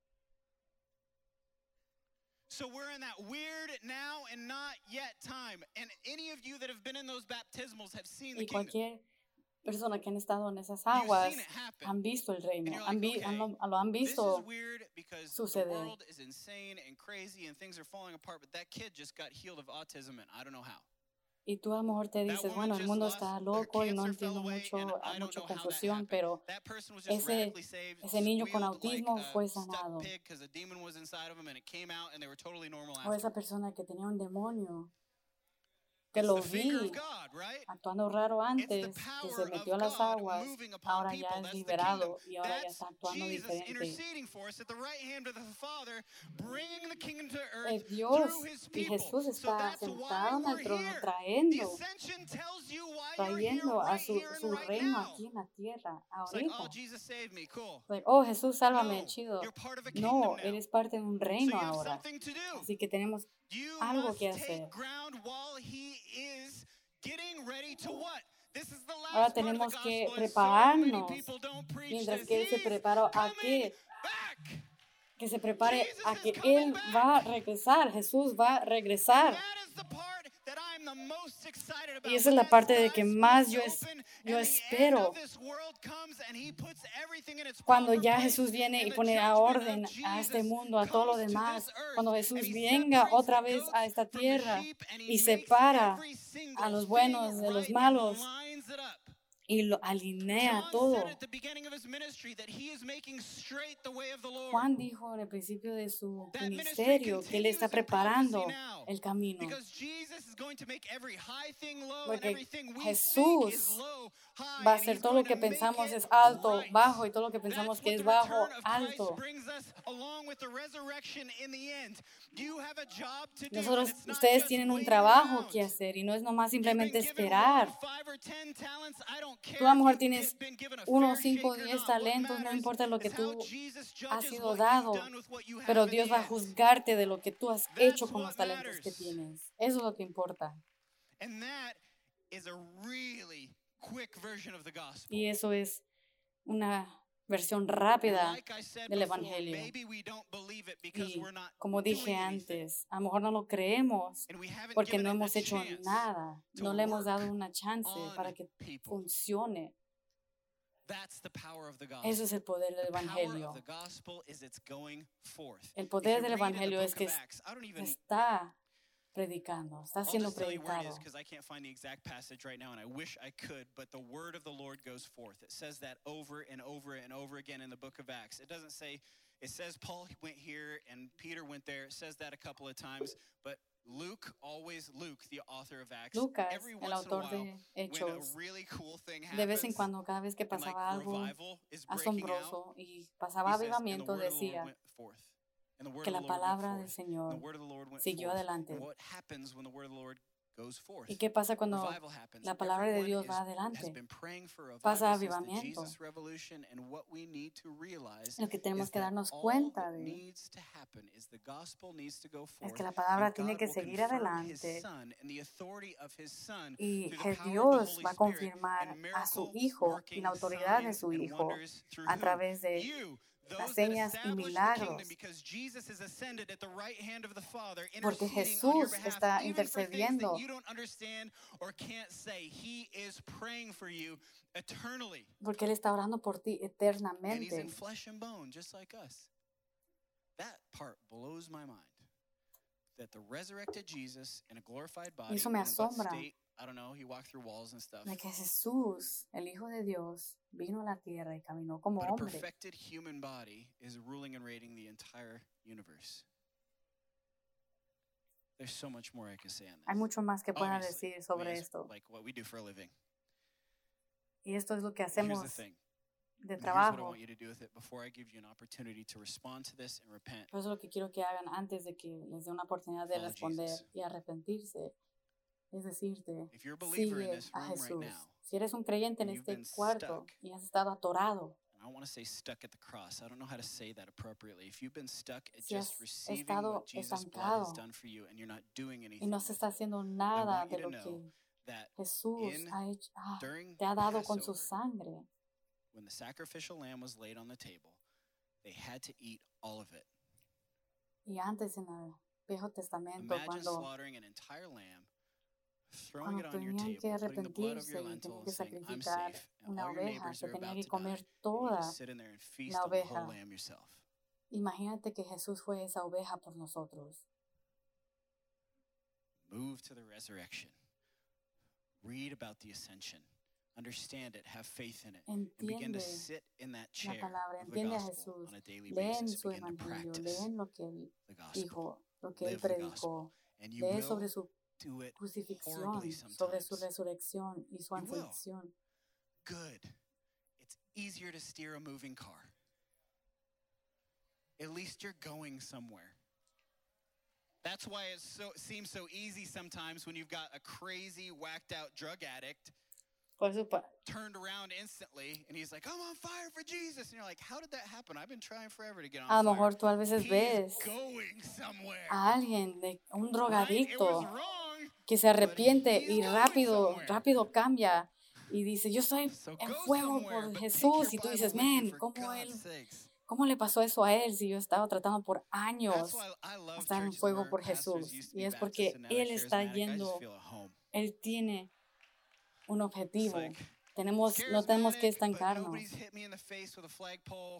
So we're in that weird now and not yet time. And any of you that have been in those baptismals have seen the Y kingdom. cualquier persona que han estado en esas You've aguas seen it happen. han visto el reino, And you're han like, vi- han okay, lo, lo han This is visto. weird because the suceder. world is insane and crazy and things are falling apart, but that kid just got healed of autism and I don't know how. Y tú a lo mejor te That dices, woman bueno, el just mundo lost, está her loco y no cancer fell entiendo away, mucho, and I hay don't mucha know how that confusión, happened. pero That person was just ese, radically saved, ese niño con squealed like autismo a fue stuck sanado. pig because a demon was inside of him and it came out and they were totally normal O esa after. persona que tenía un demonio, que It's lo the finger vi of God, right? actuando raro It's the antes, que power se of metió a las God aguas, moving upon ahora people. ya es That's the kingdom. liberado y ahora ya That's está actuando Jesus diferente. interceding for us at the right hand of the Father, bringing the kingdom to earth Es Dios through his y people. Jesús So está that's why sentado en we're el trono here. The trayendo, ascension tells you why you're here trayendo a right su, here and su right reino now. aquí en la tierra, It's like, oh, ahorita. Jesus saved me, cool. Like, oh, Jesús, sálvame, No, chido. you're part of a kingdom No, now. eres parte de un So reino you have ahora. something to do. Así que tenemos You algo must que take hacer. ground while he is getting ready to what? This is the last Ahora part of the tenemos que gospel, and so many prepararnos people don't preach mientras this. que Él se He's prepara a coming qué, back. que se prepare Jesus a is que coming Él back. va a regresar, Jesús va a regresar. That is the part that I'm the most excited about. Y esa es la When parte that de que sky más splits yo, es, open yo and the end espero of this world comes and he puts everything in its cuando proper ya place, Jesús viene y and the pone a judgment orden of a este Jesus mundo, a todo lo comes to demás, this earth, cuando and Jesús he venga separates otra the vez goats a esta from the tierra sheep, and he y makes separa every single a los thing buenos de los right and malos lines it up. y lo alinea John todo. said at the beginning of his ministry that he is making straight the way of the Lord. Juan dijo en el principio de su That ministry ministerio que Él continues está in prophecy preparando now, el camino. because Jesus is going to make every high thing low and Porque everything we think is Jesús low high, va a and hacer he's todo going lo que to make pensamos it es alto, right. bajo, y todo lo que pensamos That's que what es the bajo, return of Christ alto. brings us, along with the resurrection in the end. You have a job to do, Nosotros, and it's not ustedes just tienen un waiting trabajo around. que hacer y no es nomás You've been simplemente given esperar. one, five, or ten talents. I don't care Tú a lo if mejor you've tienes been given a uno, fair cinco, shake or diez not. What talentos, no matters importa lo que is how tú Jesus has judges sido what dado, you've done with what you have pero in Dios the va a end. juzgarte de lo que tú has hecho That's con what los talentos que matters. tienes. Eso es lo que importa. And that is a really quick version of the gospel. Y eso es una versión And rápida like I said del before, Evangelio. maybe we don't believe it because Y we're not como dije doing anything. antes, a lo mejor no lo creemos And we haven't porque given no it hemos a hecho chance nada, to no le hemos dado work una chance para on que people. funcione. That's the power of the gospel. Eso es el poder del The power Evangelio. of the gospel is it's going forth. El If poder you del read in the Evangelio es book que of es- Acts, I don't even está predicando, está I'll siendo just tell you where it is predicado. because I can't find the exact passage right now and I wish I could, but the word of the Lord goes forth. It says that over and over and over again in the book of Acts. It doesn't say It says Paul went here and Peter went there. It says that a couple of times, but Luke always, Luke, the author of Acts, Lucas, every el once in a autor while, de when a Hechos, really cool thing de vez en happens, cuando, cada vez que and like pasaba algo revival is breaking out, asombroso y pasaba he says, and the avivamiento, word of the Lord decía went forth. And the word que of the la Lord went palabra del forth. And Señor the word of the Lord went siguió forth. adelante. And what happens when the word of the Lord goes forth? ¿Y qué pasa cuando Revival happens. la palabra de Everyone Dios is, va has adelante? been praying for revival Pasa since the avivamiento. Jesus revolution, and what we need to realize Lo que tenemos is que that darnos all cuenta that de needs to happen is the gospel needs to go es forth, que la palabra and tiene God que will seguir confirm His adelante Son and the authority of His Son y through the que power of the Dios Holy va a Spirit confirmar and a su miracle Hijo y working la autoridad de signs su and Hijo wonders through a who? través de You. las Those that señas y establish the kingdom, milagros, because Jesus is ascended at the right hand of the Father, porque interceding on your Jesús behalf, está even for things that intercediendo, you don't understand or can't say. He is praying for you eternally, porque Él está orando por ti and He's in eternamente. flesh and bone, just like us. That part blows my mind. That the resurrected Jesus in a glorified body, eso me in what asombra. state, I don't know, He walked through walls and stuff. De que Jesús, el Hijo de Dios, vino a la tierra y caminó como But a hombre. perfected human body is ruling and reigning the entire universe. There's so much more I could say on this. Hay mucho más que pueda Obviously, decir I sobre mean, it's esto. like what we do for a living. Y esto es lo que Here's the hacemos thing. de And here's what I trabajo. want you to do with it before I give you an opportunity to respond to this and repent. Por eso lo que quiero que hagan antes de que les dé una oportunidad de Follow responder Jesus. y arrepentirse, es decirte, If you're a believer in sigue this a room right Jesús. now, Si eres un creyente en and you've este been cuarto stuck, y has estado atorado, and I don't want to say stuck at the cross. I don't know how to say that appropriately. If you've been stuck at si just has receiving estado what Jesus' blood has estancado done for you and you're not doing y anything no se with está it, haciendo I nada want you de to lo know que that Jesús in ha hecho, ah, during te ha dado con su Passover, sangre. when the sacrificial lamb was laid on the table, they had to eat all of it. Y antes en el Viejo Testamento, Imagine cuando, slaughtering an entire lamb, throwing cuando it on your tenían que table, putting the blood over arrepentirse your y tenían lentil, que and saying, "I'm sacrificar safe," and una all your oveja, neighbors se are tenía about que to die, comer and you toda just sit in there and feast la on the whole oveja. lamb yourself. Imagínate que Jesús fue esa oveja por nosotros. Move to the resurrection. Read about the ascension. Understand it. Have faith in it. And begin to Entiende sit in that la chair palabra, of the entiende a gospel Jesús, on a daily leen basis. su Begin to evangelio, practice leen lo que Él the gospel. dijo, lo que Él Live the predicó, gospel. And you lee will sobre su do it crucifixión, horribly sobre su sometimes. resurrección y su You will. ascensión. Good. It's easier to steer a moving car. At least you're going somewhere. That's why it's so, it seems so easy sometimes when you've got a crazy, whacked out drug addict Por eso, pa- turned around instantly and he's like, I'm on fire for Jesus. And you're like, how did that happen? I've been trying forever to get on a lo fire. mejor tú a veces He's ves going somewhere. a alguien, de un Right? It was drogadicto, wrong. que se arrepiente he's y going rápido, somewhere. rápido cambia y dice, yo estoy So en go fuego somewhere, por but take Jesús. your Y tú Bible dices, with you man, for ¿cómo, él, God's sakes. ¿cómo le pasó eso a él si yo estaba tratando por That's años why I love estar en churches fuego where por pastors Jesús? used to Y be es Baptist porque and now they're Él está charismatic. I just yendo, feel at home. Él tiene un It's objetivo. like, Tenemos, no tenemos que charismatic, but estancarnos. nobody's hit me in the face with a flagpole.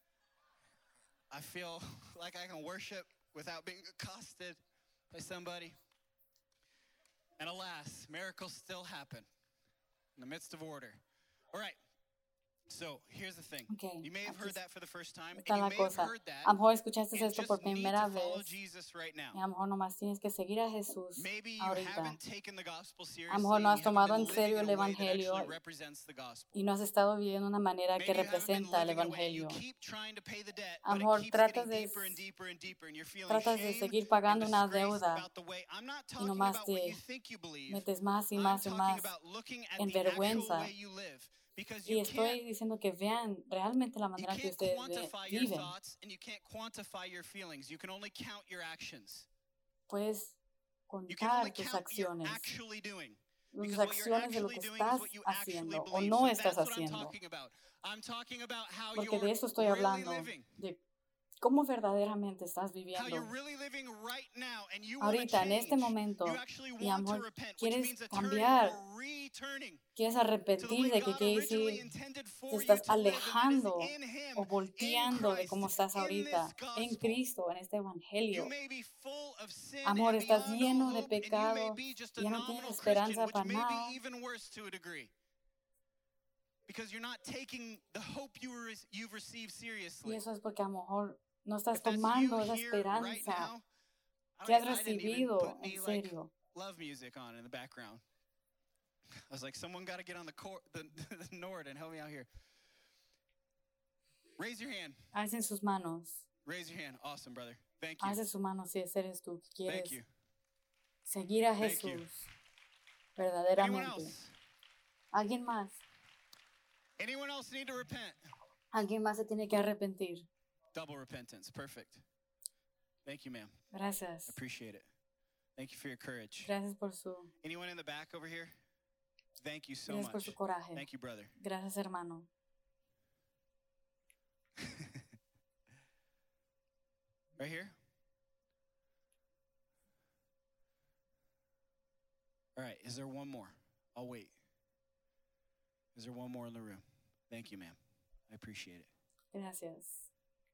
I feel like I can worship without being accosted by somebody. And alas, miracles still happen in the midst of order. All right. So here's the thing. Okay, You may have aquí heard that for the first time, está and you la may have cosa. heard that A lo mejor escuchaste and esto just por need primera to follow vez. Jesus right now. Y a lo mejor nomás tienes que seguir a Jesús Maybe you ahorita. haven't taken the gospel A seriously. lo mejor no and has you haven't tomado been en serio living el in a way that evangelio actually represents the gospel. y no has estado viviendo de una manera que Maybe you haven't been representa el living in a way you evangelio. keep trying to pay the debt, A lo but it mejor keeps tratas getting de, deeper and deeper and deeper, and you're feeling tratas de shame seguir and pagando una disgrace deuda about the way. I'm not y talking nomás about what te you think you believe. metes más y I'm más y talking más about looking at en the actual vergüenza. way you live. Because Y you can't, estoy diciendo que vean realmente la you manera que can't ustedes ve- quantify your viven. thoughts and you can't quantify your feelings. You can only count your actions. Puedes You can only contar tus count what you're acciones, actually doing. tus Because what you're acciones de lo actually que doing is estás what you actually haciendo o believe. no So estás that's what I'm haciendo. talking about. I'm talking about how Porque you're de eso estoy really hablando, living. de cómo verdaderamente estás How viviendo you're really living right now and you want to ahorita, en este change. momento, You actually y want to amor, repent, which quieres means a turning cambiar, or returning quieres to the way arrepentir de que God quiere originally decir, intended for te you estás to live, and that is alejando in Him, o in volteando de Christ, cómo estás in ahorita, this en gospel. Cristo, en este You evangelio. may be full of sin Amor, and estás beyond lleno all de hope, and you may pecado, be just a ya no nominal tienes Christian, esperanza which para may nada. be even worse to a degree. Because you're not taking the hope you re- you've received Y seriously. eso es porque a lo mejor no estás If that's you tomando esa here right esperanza now, que I, has I didn't even recibido put en me like serio. love music on in the background. I was like, someone got to get on the, cor- the, the Nord and help me out here. Raise your hand. Alcen sus manos. Raise your hand. Awesome, brother. Thank you. Alce su mano si ese eres tú que Thank quieres you. seguir a Thank you. Jesús Anyone verdaderamente. else? ¿Alguien más? Anyone else need to repent? Alguien más se tiene que arrepentir. Double repentance. Perfect. Thank you, ma'am. I Gracias. appreciate it. Thank you for your courage. Gracias por su, Anyone in the back over here? Thank you so gracias por much. su coraje. Thank you, brother. Gracias, hermano. Right here? All right, is there one more? I'll wait. Is there one more in the room? Thank you, ma'am. I appreciate it. Gracias.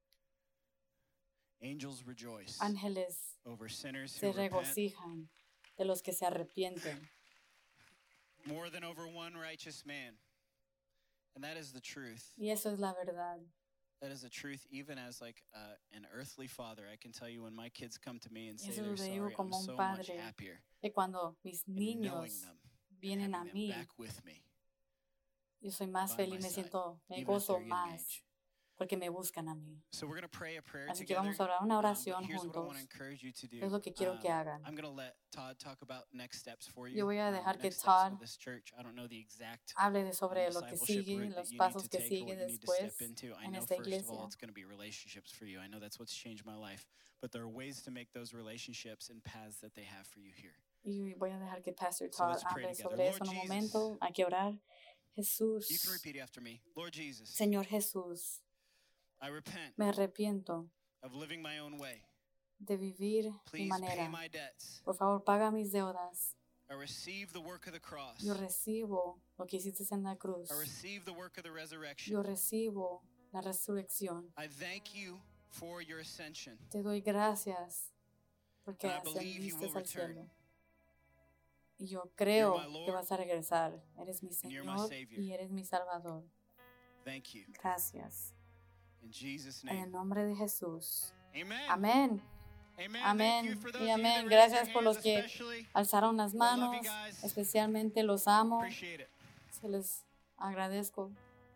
Angels rejoice Ángeles over sinners who se repent regocijan de los que se arrepienten more than over one righteous man. And that is the truth. y eso es la verdad. That is the truth, even as like uh, an earthly father. I can tell you when my kids come to me and say Eso they're lo digo sorry, I'm como un so much padre, happier que cuando mis in knowing niños them and vienen a having them mí, back with me yo soy más by feliz, my me side, siento, me even at gozo their young más age. porque me buscan a mí. So we're going to pray a prayer Así que together. vamos a orar una Um, but oración here's what I want juntos. to encourage you to do. Es lo que quiero que Um, hagan. I'm going to let Todd talk about next steps for you. Yo voy a um, dejar que next steps for Todd this church. I don't know the exact hable de sobre um, lo que discipleship sigue, route that los you need pasos to que take or sigue what you need to después step into. I en know esta first of all iglesia. it's going to be relationships for you. I know that's what's changed my life. But there are ways to make those relationships and paths that they have for you here. Y voy a dejar que Pastor So Todd let's pray hable together. sobre Lord eso en un Jesus. momento. Hay que orar. You can Jesús, repeat after me. Lord Jesus, Señor Jesús, I repent me arrepiento of living my own way. de vivir mi Please pay manera. my debts. Por favor, paga mis deudas. I receive the work of the cross. Yo recibo lo que hiciste en la cruz. I receive the work of the resurrection. Yo recibo la resurrección. I thank you for your ascension. Te doy gracias porque And I believe you ascendiste will al return. cielo. Y yo creo You're my Lord, que vas a regresar. Eres mi and you're my Señor Savior. y eres mi Salvador. Thank you. Gracias. In Jesus' En el name. nombre de Jesús. Amen. Amén. Amen. Amén Thank you for those y of you that amén. raised Gracias your por hands los que especially. alzaron las I love manos. you guys. Especialmente los amo. Appreciate it. Se les agradezco.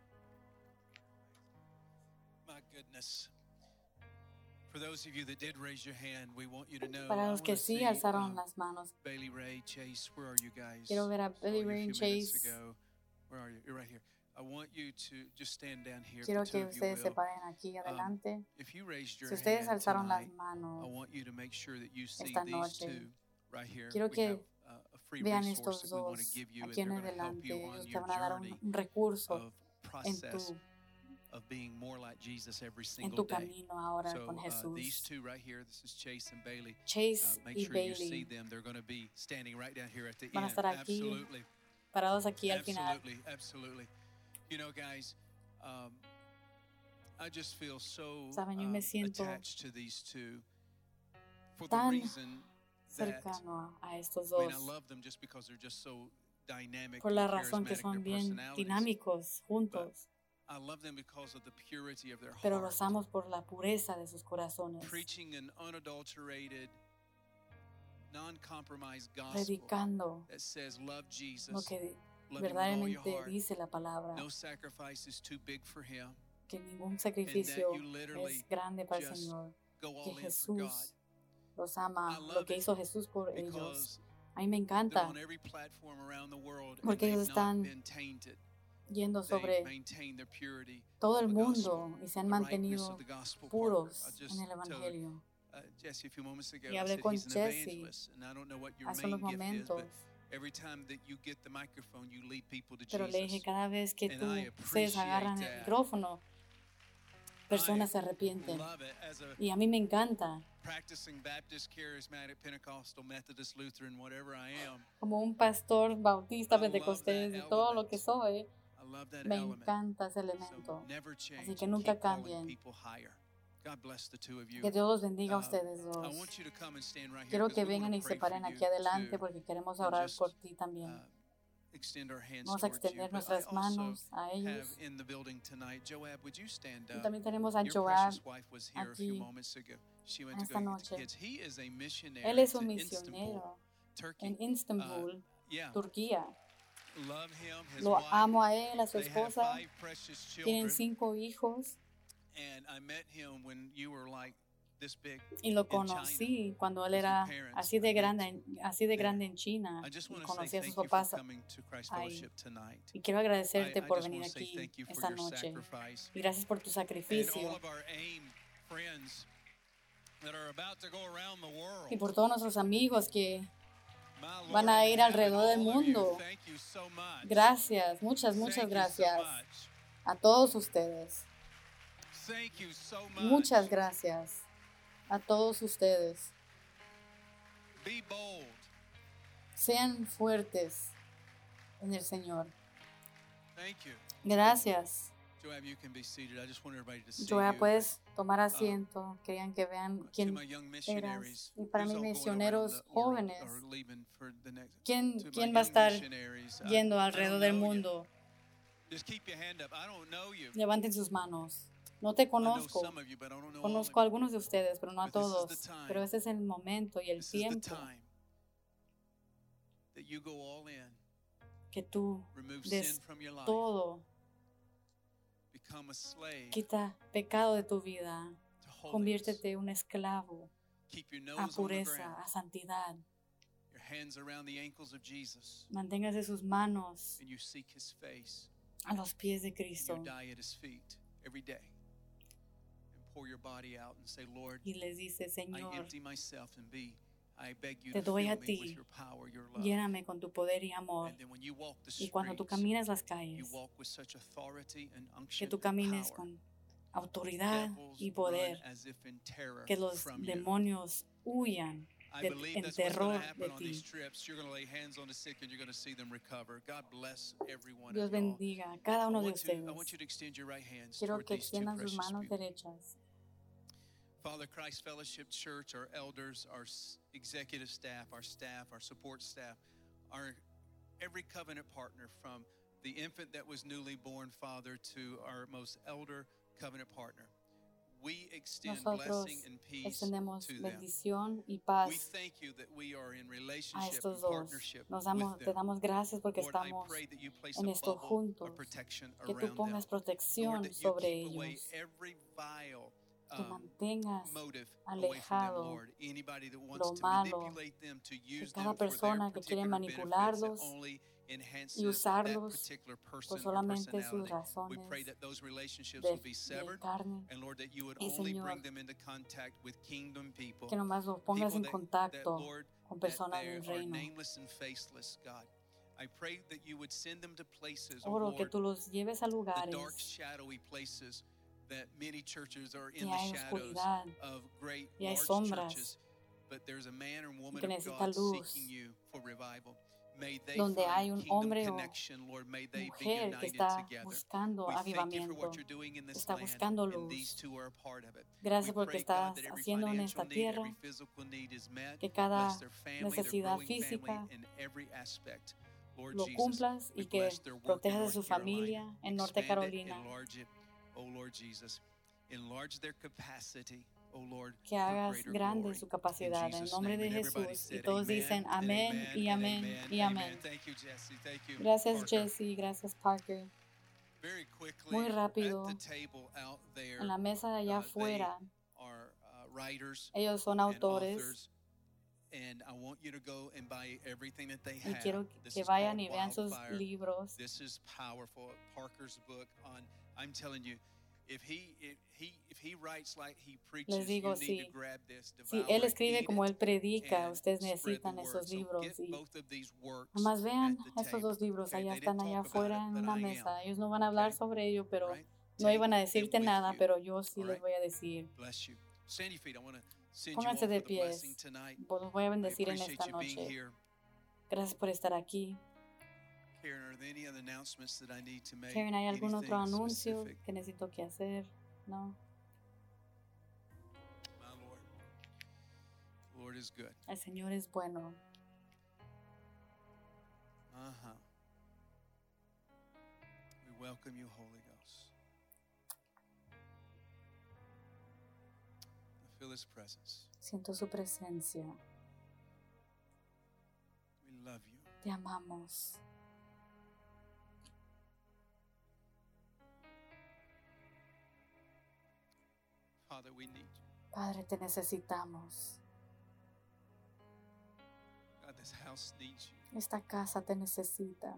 My goodness. For those of you that did raise your hand, we want you to know. Para I los que wanna sí see, alzaron um, las manos. Bailey Ray, Chase, where are you guys? Quiero ver a Saw Billy you Ray few and minutes Chase. ago. Where are you? You're right here. I want you to just stand down here. Quiero if the two que of you ustedes se will. paren aquí adelante. If you raised your Si ustedes hand alzaron las tonight, I manos want you to make sure that you see esta these noche, two right here. quiero We que have uh, a free vean resource estos that we want to dos give you, and aquí en they're going to help adelante. you Ellos on te your van a dar un, journey un recurso of en process tu, of being more like Jesus every en single tu day. camino ahora So con uh, these Jesús. two right here, this is Chase and Bailey. Uh, Chase make y sure you see Bailey them. They're going to be standing right down here at the van a end. estar aquí, Absolutely, parados aquí al final. absolutely, absolutely. You know, guys, um, I just feel so Saben, yo um, me siento attached to these two for the tan reason that cercano a estos I mean, I dos. love them just because they're just so dynamic Por and la razón que charismatic, son their bien personalities. dinámicos juntos. I love them because of the purity of their Pero heart. los amo por la pureza de sus corazones. Preaching an unadulterated, non-compromised gospel Predicando that says love lo Jesus, que love him with all your verdaderamente heart. dice la palabra. No sacrifice is too big for him. Que ningún sacrificio you literally es grande para el just Señor. Go Que all in for God. Jesús los ama, I lo love que it hizo Jesús por ellos. Because A mí me they're encanta on every platform around the world and porque they've ellos not están been tainted. yendo They've sobre maintained their purity, todo el the mundo gospel, y se han the rightness mantenido of the gospel puros partner. I just en el told, Evangelio. uh, Jesse a few moments ago, Y I hablé said con he's an Jesse evangelist, and I don't know what your hace main unos gift is, momentos, but every time that you get the microphone, you lead people to pero le dije, Jesus. cada vez que And tú I ustedes agarran el appreciate that. micrófono, personas se arrepienten. Love it. As a Y a mí me encanta, practicing Baptist, Charismatic, Pentecostal, Methodist, Lutheran, whatever I am, como un pastor bautista, I love pentecostés, that de todo lo que element. soy, I love that me element. encanta ese So elemento. never change. Así que and nunca keep calling cambien. people higher. God bless the two of you. Que Dios los bendiga a Uh, ustedes I dos. want you to come and stand right here Quiero 'cause que we wanna vengan y se pray for paren aquí you adelante too. porque queremos And orar just, por ti también. Uh, extend our hands Vamos a towards you. extender But I nuestras also manos a have ellos. in the building tonight, Joab, would you stand Y up? también tenemos a Your Joab precious wife was here a few aquí moments ago. She went en to go esta get the noche. kids. He is a Él missionary es to un Istanbul, misionero Turkey. en Istanbul, Yeah, Turquía. love him, his Lo wife. amo a él, a su They have esposa. five precious Tienen children. cinco hijos And I met him when you were like this big y lo in China. conocí cuando él with your era parents. así de I met grande, en- así de there. grande en China. I just Y want to say conocí a sus thank you for papás coming to Christ ahí. Fellowship tonight. Y quiero I, agradecerte I por just venir want to say aquí thank you for esta your noche. sacrifice. Y gracias por tu And sacrificio. all of our AIM friends that are about to go around the world. Y por todos nuestros amigos que My Lord van a in ir heaven, alrededor del all of you, mundo. thank you so much. Gracias, muchas, muchas Thank you so gracias much. a todos ustedes. Thank you so much. Muchas gracias a todos ustedes. Be bold. Sean fuertes en el Señor. Thank you. Gracias. Joab, you can be seated. I just want everybody to see Joab, you. puedes tomar asiento. Querían que vean To quién my young eras. missionaries, Y para who's mis all going misioneros around the world jóvenes, or leaving for the next- ¿quién, to my quién va a young estar missionaries, I- yendo I don't alrededor del know you. mundo? Just keep your hand up. I don't know you. Levanten sus manos. No te I know conozco. some of you, but I don't know all of Conozco a you. algunos de ustedes, pero no a But this is todos. the time. Pero ese es el momento y el This is the tiempo time that you go all in, que tú remove des sin from your life, todo. become a slave Quita pecado de tu vida. to holiness. Conviértete un esclavo Keep your a nose on the pureza, ground, a santidad. your hands around the ankles of Jesus, Manténgase sus manos and you seek his face. a los pies de You Cristo die at his feet every day and pour your body out and say, Lord, y les dice, I Señor, empty myself and be, I beg you te to doy fill a me ti. with your power, your love. lléname con tu poder y amor. And then when you walk the Y cuando tú streets, caminas las you calles, walk with such authority and que unction tú and camines power. con autoridad Devils y run poder, as if in terror que los from you. demonios huyan I de- believe en that's what's terror going to de happen on these ti. trips. You're going to lay hands on the sick and you're going to see them recover. God bless every one Dios of y'all. bendiga a cada I uno de want, to, I ustedes. want you to extend your right hands Quiero toward que these two extiendan sus precious manos people. derechas. Father, Christ Fellowship Church, our elders, our s- executive staff, our staff, our support staff, our every covenant partner from the infant that was newly born, Father, to our most elder covenant partner. We extend Nosotros blessing and peace extendemos to them. bendición y We paz thank you that we are in a relationship estos and dos. partnership Nos with damos, te them. damos gracias porque Lord, I estamos, pray that you place en a esto bubble juntos, of protection que tú around them. pongas Lord, protección that you sobre keep away ellos, every vile que um, mantengas motive away from them, alejado Lord. Anybody that wants lo to malo, manipulate them to que use cada them for their persona que quiere particular benefits that manipularlos only enhances y that usarlos particular por person or solamente sus personality. We pray razones that those relationships de, will be de severed, carne, and Lord, that you would y only Señor, bring them into contact with kingdom people. que nomás los pongas People en that, that, contacto Lord, con that personas they del are reino. nameless and faceless, God. I pray that you would send them to places, oh Oro que Lord, tú los lleves a the dark, lugares shadowy places that many churches are que in the hay shadows oscuridad of great y hay large sombras churches, but there's a man or woman que of necesita God luz, seeking you for revival. May they donde hay find un kingdom hombre o connection, Lord. May they be mujer que united está together. buscando We thank you for avivamiento, what you're doing in this está land, buscando and these luz. two are a part of it. Gracias We porque pray, God, estás that every haciendo en financial esta need, every tierra physical need is met. que cada Bless their family, their necesidad growing family física in every aspect. Lord lo Jesus, cumplas we y que bless their work in protejas a North su Carolina. familia en Norte Expand it, Carolina, enlarge it, oh Lord Jesus. Enlarge their capacity, oh Lord, que for hagas greater grande glory. su In capacidad en Jesus' nombre name. de And everybody Jesús. Y said todos amen, dicen and amén amen, y and amén amen, y amen. amén. Thank you, Jesse. Thank you, Gracias Parker. Jesse, gracias Parker. Very quickly, Muy rápido, at the table out there, en la mesa de allá uh, they afuera, are uh, writers ellos son and autores authors, and I want you to go and buy everything that they y have. quiero This que is vayan called y vean sus Wildfire. libros. This is powerful. Parker's book on, I'm telling you, if he if he if he writes like he preaches, Les digo, you need si, to grab this, si devour él it, escribe eat como it, él predica, and ustedes spread the necesitan word. esos So libros get y both of these works nomás vean at the estos table. dos libros, Okay, allá they están didn't allá talk about afuera it, en but una I am. mesa. Ellos no van a hablar Okay, sobre ello, pero right? no iban a Take them decirte with nada, you. pero yo sí All les right. voy a decir. Bless you. Stand your feet. I want to send you Pónganse off de with a blessing pies. tonight. Los voy a I bendecir en appreciate esta you being noche. here. Gracias por estar aquí. Karen, are there any other announcements that I need to make? Karen, ¿hay algún otro Anything anuncio specific? que necesito que hacer? No. My Lord. The Lord is good. El Señor es bueno. Uh-huh. welcome you, Holy Ghost. I feel His presence. Siento su presencia. We love you. Te amamos. Father, we need you. Padre, te necesitamos. God, this house needs you. Esta casa te necesita.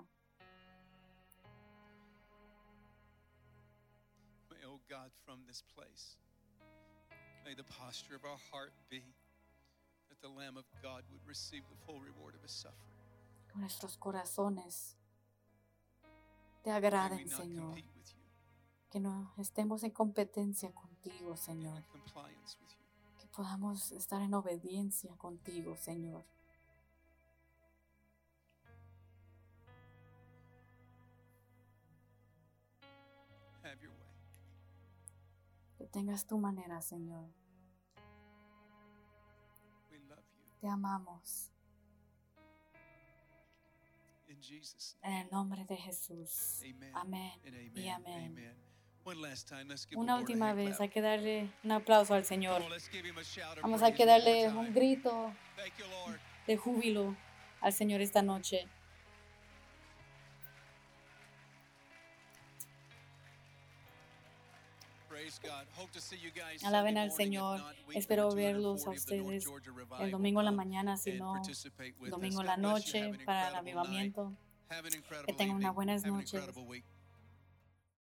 May, oh God, from this place, may the posture of our heart be that the Lamb of God would receive the full reward of His suffering. Nuestros corazones te May we agraden, not Señor. compete with you, Que no estemos en competencia contigo, but Señor. in compliance with you. Que podamos estar en obediencia contigo, Señor. Have your way. Que tengas tu manera, Señor. We love you. Te amamos. In Jesus' En el nombre de Jesús. name. Amen. Amén And amen. y amén. Amen. One last time, let's give the Una Lord a última hand vez, clap. hay que darle un aplauso al Señor. Come on, let's give Him a shout of Vamos a praise que one more darle time. un grito Thank you, Lord. de júbilo al Señor esta noche. Praise God. Hope to see you guys Alaben Sunday al morning. If Señor. not, week Espero number verlos a two hundred forty of the North ustedes Georgia el Revival. domingo en la Come mañana, si and no, participate with us. domingo en God la bless you. noche Have an para el incredible night. avivamiento. Have an incredible Que tengan evening. unas buenas Have an noches. incredible week.